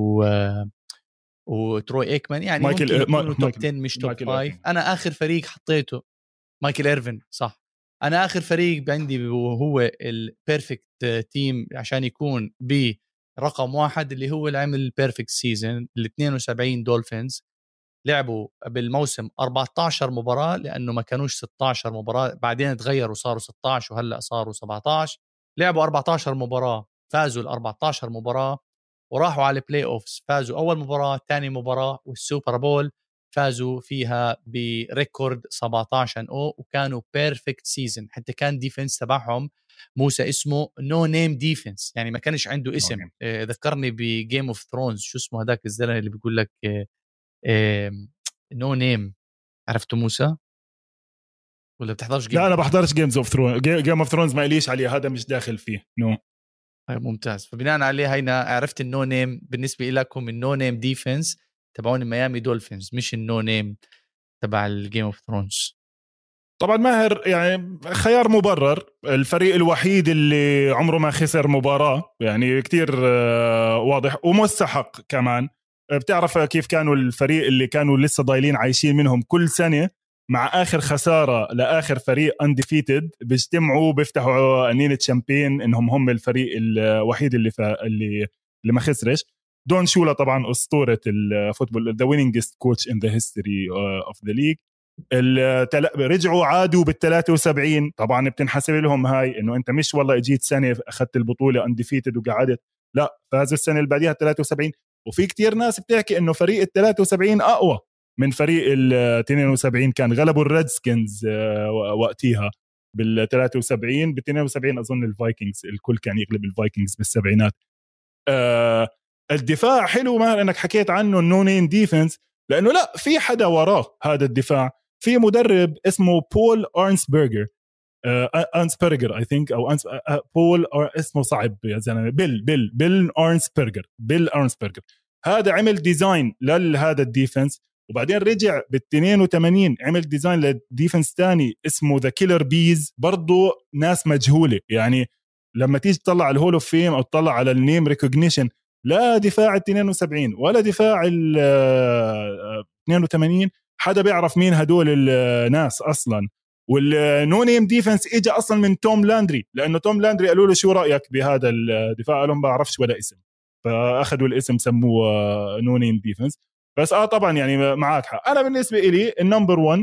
وتروي ايكمان، يعني ممكن يكونوا توب 10 مش توب 5. انا اخر فريق حطيته مايكل إيرفين، صح. انا اخر فريق عندي وهو البيرفكت تيم عشان يكون برقم 1 اللي هو اللي عمل البيرفكت سيزن، ال 72 دولفينز. لعبوا بالموسم 14 مباراة لأنه ما كانوش 16 مباراة، بعدين تغيروا صاروا 16 وهلأ صاروا 17. لعبوا 14 مباراة، فازوا ال 14 مباراة وراحوا على البلاي أوفس، فازوا أول مباراة، تاني مباراة، والسوبر بول فازوا فيها بريكورد 17-0، وكانوا بيرفكت سيزن. حتى كان ديفنس تبعهم موسى اسمه نو نيم ديفنس، يعني ما كانش عنده اسم. ذكرني بجيم اوف ثرونز، شو اسمه هذاك الزلمه اللي بيقول لك نو نيم، عرفتوا موسى ولا بتحضرش جيم؟ لا انا بحضرش جيم اوف ثرونز ما ليش عليه، هذا مش داخل فيه. نو ممتاز. فبناء عليه هينا عرفت النو نيم بالنسبه لكم، النو نيم ديفنس تبعون ميامي دولفينز، مش النو نيم تبع الجيم اوف ثرونز. طبعا ماهر يعني خيار مبرر، الفريق الوحيد اللي عمره ما خسر مباراة، يعني كتير واضح ومستحق كمان. بتعرف كيف كانوا الفريق اللي كانوا لسه ضايلين عايشين منهم كل سنة مع آخر خسارة لآخر فريق undefeated بيجتمعوا بيفتحوا أنينة شامبين إنهم هم الفريق الوحيد اللي ما خسرش. دون شولا طبعا أسطورة الفوتبول، the winningest coach in the history of the league. رجعوا عادوا بال73، طبعا بتنحسب لهم هاي انه انت مش والله اجيت سنه اخذت البطوله انديفيتد وقعدت، لا فازوا السنه اللي بعديها 73. وفي كتير ناس بتحكي انه فريق ال73 اقوى من فريق ال72، كان غلبوا الريدسكنز وقتها بال73. بال72 اظن الفايكنجز الكل كان يغلب الفايكنجز بالسبعينات. الدفاع حلو ماهر انك حكيت عنه النو نيم ديفنس، لانه لا في حدا وراه هذا الدفاع، في مدرب اسمه بول أرنسبرجر، أرنسبرجر I think أو بول اسمه صعب يا زلمة، بيل أرنسبرجر. هذا عمل ديزاين لهذا الديفنس، وبعدين رجع بال82 عمل ديزاين للديفنس تاني اسمه ذا كيلر بيز، برضو ناس مجهولة. يعني لما تيجي تطلع الهول اوف فيم أو تطلع على النيم ريكوجنيشن، لا دفاع ال 72 ولا دفاع ال 82 حدا بيعرف مين هدول الناس اصلا. والنو نيم ديفنس اجى اصلا من توم لاندري، لانه توم لاندري قالوا له شو رايك بهذا الدفاع، قال لهم ما بعرفش ولا اسم، فاخذوا الاسم سموه نو نيم ديفنس. بس طبعا يعني معك حق. انا بالنسبه لي النمبر 1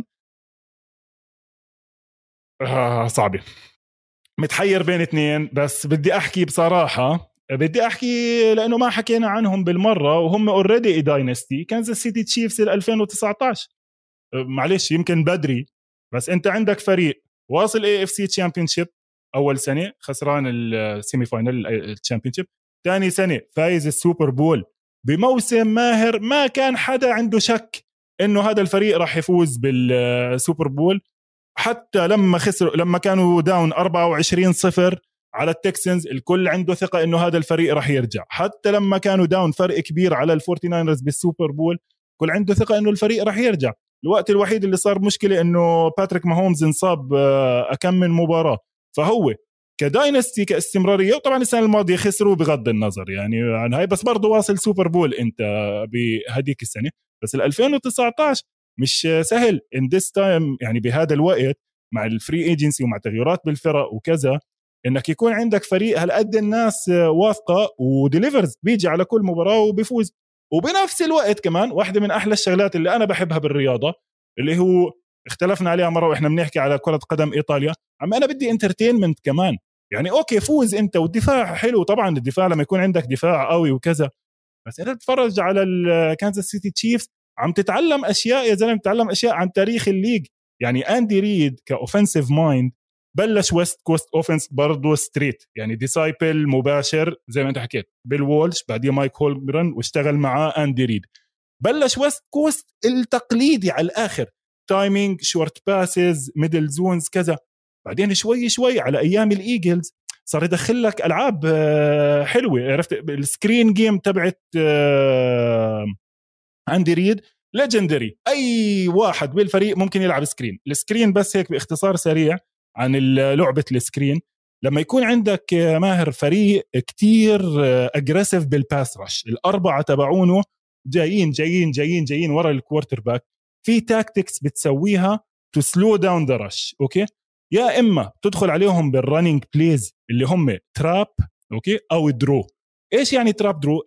صعبه، متحير بين اثنين، بس بدي احكي بصراحه، بدي احكي لانه ما حكينا عنهم بالمره وهم اوريدي داينستي، كانزاس سيتي تشيفز 2019. معلش يمكن بدري، بس انت عندك فريق واصل AFC تشامبيونشيب اول سنه، خسران السيمي فاينل التشامبيونشيب، ثاني سنه فايز السوبر بول بموسم ماهر ما كان حدا عنده شك انه هذا الفريق راح يفوز بالسوبر بول. حتى لما خسروا، لما كانوا داون 24-0 على التكسنز الكل عنده ثقة إنه هذا الفريق رح يرجع، حتى لما كانوا داون فرق كبير على الفورتي ناينرز بالسوبر بول كل عنده ثقة إنه الفريق رح يرجع. الوقت الوحيد اللي صار مشكلة إنه باتريك ماهومز انصاب أكم من مباراة، فهو كداينستي كاستمرارية. وطبعا السنة الماضية خسروا بغض النظر يعني عن هاي، بس برضو واصل سوبر بول انت بهديك السنة. بس 2019 مش سهل in this time يعني بهذا الوقت مع الفري ايجنسي ومع تغيرات بالفرق وكذا، انك يكون عندك فريق هالقد الناس واثقة وديليفرز بيجي على كل مباراة وبيفوز. وبنفس الوقت كمان واحدة من أحلى الشغلات اللي أنا بحبها بالرياضة اللي هو اختلفنا عليها مرة وإحنا بنحكي على كرة قدم إيطاليا، عم أنا بدي انترتينمنت كمان. يعني أوكي فوز أنت والدفاع حلو، طبعا الدفاع لما يكون عندك دفاع قوي وكذا، بس أنت تتفرج على الكانزاس سيتي تشيفز عم تتعلم أشياء يا زلمة، تتعلم أشياء عن تاريخ الليج. يعني أندي ريد كأوفنسيف مايند بلش ويست كوست اوفنس برضو ستريت، يعني ديسايبل مباشر زي ما انت حكيت بيل وولش، بعدين مايك هولمجرن واشتغل معاه أندي ريد. بلش ويست كوست التقليدي على الآخر، تايمينج شورت باسز ميدل زونز كذا. بعدين شوي شوي على أيام الإيجلز صار يدخل لك ألعاب حلوة، عرفت السكرين جيم تبعت أندي ريد ليجندري، أي واحد بالفريق ممكن يلعب سكرين. السكرين بس هيك باختصار سريع عن لعبة السكرين، لما يكون عندك ماهر فريق كتير أجريسيف بالباس رش، الأربعة تبعونه جايين جايين جايين جايين ورا الكوارتر باك، في تاكتكس بتسويها تو سلو داون ذا رش. اوكي، يا اما تدخل عليهم بالرننج بليز اللي هم تراب اوكي او درو. ايش يعني تراب درو؟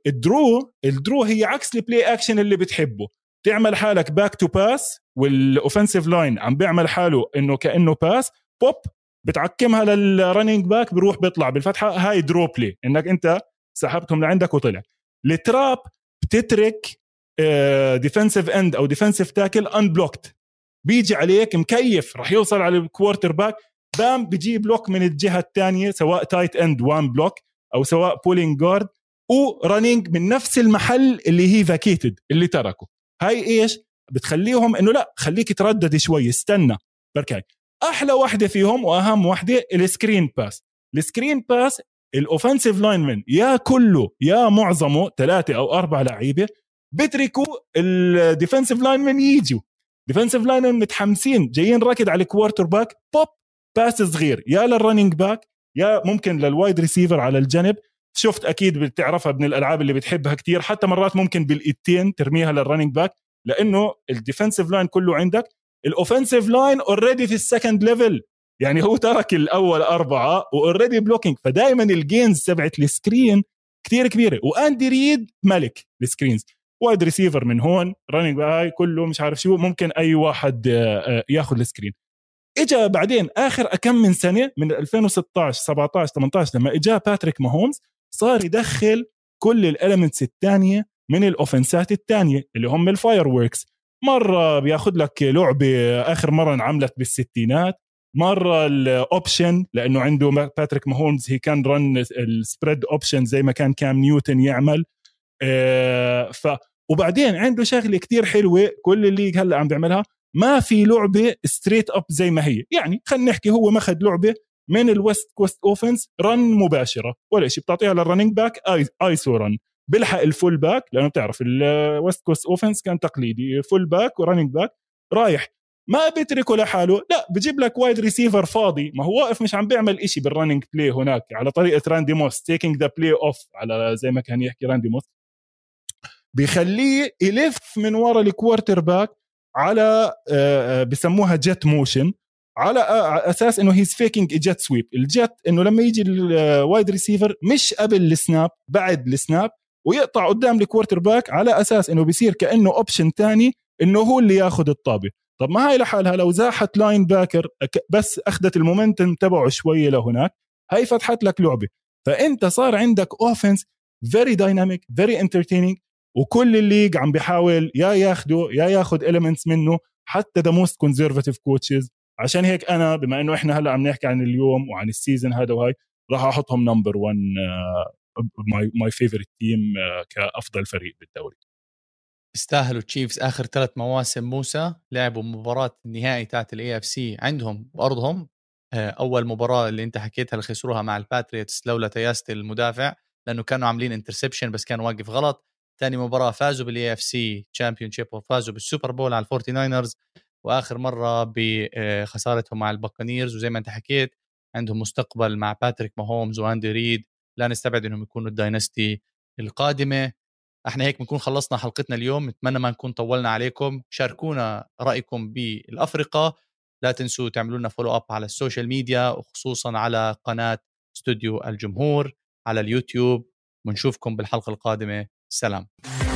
الدرو هي عكس البلاي اكشن اللي بتحبه، تعمل حالك باك تو باس والاوفنسيف لاين عم بيعمل حاله انه كانه باس بوب، بتعكمها للرننج باك بيروح بيطلع بالفتحه، هاي درو بلاي انك انت سحبتهم لعندك وطلع. التراب بتترك ديفنسيف اند او ديفنسيف تاكل انبلوكت، بيجي عليك مكيف رح يوصل على الكوارتر باك، بام بيجي بلوك من الجهه الثانيه سواء تايت اند وان بلوك او سواء بولينج جارد ورننج من نفس المحل اللي هي فاكيتد اللي تركه. هاي ايش بتخليهم انه لا خليك تردد شوي استنى بركاي. احلى واحده فيهم واهم واحده السكرين باس. السكرين باس الاوفنسيف لاينمن يا كله يا معظمه 3 أو 4 لعيبه بتركوا الديفنسيف لاينمن يجوا، ديفنسيف لاينمن متحمسين جايين راكد على الكوارتر باك، بوب باس صغير يا للرننج باك يا ممكن للوايد ريسيفر على الجنب. شفت اكيد بتعرفها من الالعاب اللي بتحبها كتير، حتى مرات ممكن بالايدتين ترميها للرننج باك لانه الديفنسيف لاين كله عندك، الاوفنسيف لاين اوريدي في السكند ليفل، يعني هو ترك الاول 4 واوريدي بلوكينج، فدائما الجينز تبعت السكرين كتير كبيره. واندي ريد ملك السكرينز، وايد ريسيفر من هون رننج باك كله مش عارف شو، ممكن اي واحد ياخذ السكرين. اجا بعدين اخر كم من سنه من 2016 17 18 لما اجا باتريك ماهومز صار يدخل كل الاليمنتس الثانيه من الاوفنسات الثانيه اللي هم الفاير ووركس. مره بياخذ لك لعبه اخر مره انعملت بالستينات، مره الاوبشن لانه عنده باتريك ماهومز هي كان رن السبريد اوبشن زي ما كان كام نيوتن يعمل. وبعدين عنده شغله كتير حلوه كل اللي هلا عم بيعملها، ما في لعبه ستريت اب زي ما هي، يعني خلينا نحكي هو ما اخذ لعبه من الويست كوست اوفنس رن مباشره ولا شيء، بتعطيها للرننج باك ايسو رن بلحق الفول باك، لانه بتعرف الويست كوست اوفنس كان تقليدي فول باك ورننج باك رايح، ما بيتركه لحاله، لا بجيب لك وايد ريسيفر فاضي ما هو واقف مش عم بيعمل إشي بالرننج بلاي هناك على طريقه راندي موس تيكينج ذا بلاي اوف على زي ما كان يحكي راندي موس، بيخليه يلف من وراء الكوارتر باك على بسموها جيت موشن، على اساس انه هيز فيكينج جيت سويب. الجيت انه لما يجي الوايد ريسيفر مش قبل السناب بعد السناب ويقطع قدام الكوارتر باك على اساس انه بيصير كانه اوبشن تاني انه هو اللي ياخذ الطابه. طب ما هاي لحالها لو زاحت لاين باكر بس اخذت المومنتم تبعه شويه لهناك، هاي فتحت لك لعبه. فانت صار عندك اوفنس فيري دايناميك فيري انترتينينج، وكل الليج عم بيحاول يا ياخده يا ياخد elements منه، حتى the most conservative coaches. عشان هيك أنا بما إنه إحنا هلأ عم نحكي عن اليوم وعن السيزن هذا وهاي راح أحطهم نمبر 1 my favorite team كأفضل فريق بالدوري. استاهلوا تشيفز آخر 3 مواسم موسى، لعبوا مباراة النهائي تاعت الAFC عندهم بأرضهم أول مباراة اللي أنت حكيتها اللي خسروها مع الباتريوتس لولا تياست المدافع لأنه كانوا عاملين انترسبشن بس كان واقف غلط. تاني مباراة فازوا بالإي اف سي تشامبيونشيب وفازوا بالسوبر بول على الفورتي ناينرز، وآخر مرة بخسارتهم مع الباكانيرز. وزي ما أنت حكيت عندهم مستقبل مع باتريك ماهومز واندي ريد، لا نستبعد أنهم يكونوا الداينستي القادمة. احنا هيك بنكون خلصنا حلقتنا اليوم، نتمنى ما نكون طولنا عليكم. شاركونا رأيكم بالأفرقة، لا تنسوا تعملوا لنا فولو اب على السوشيال ميديا وخصوصا على قناة استوديو الجمهور على اليوتيوب، ونشوفكم بالحلقة القادمة. سلام.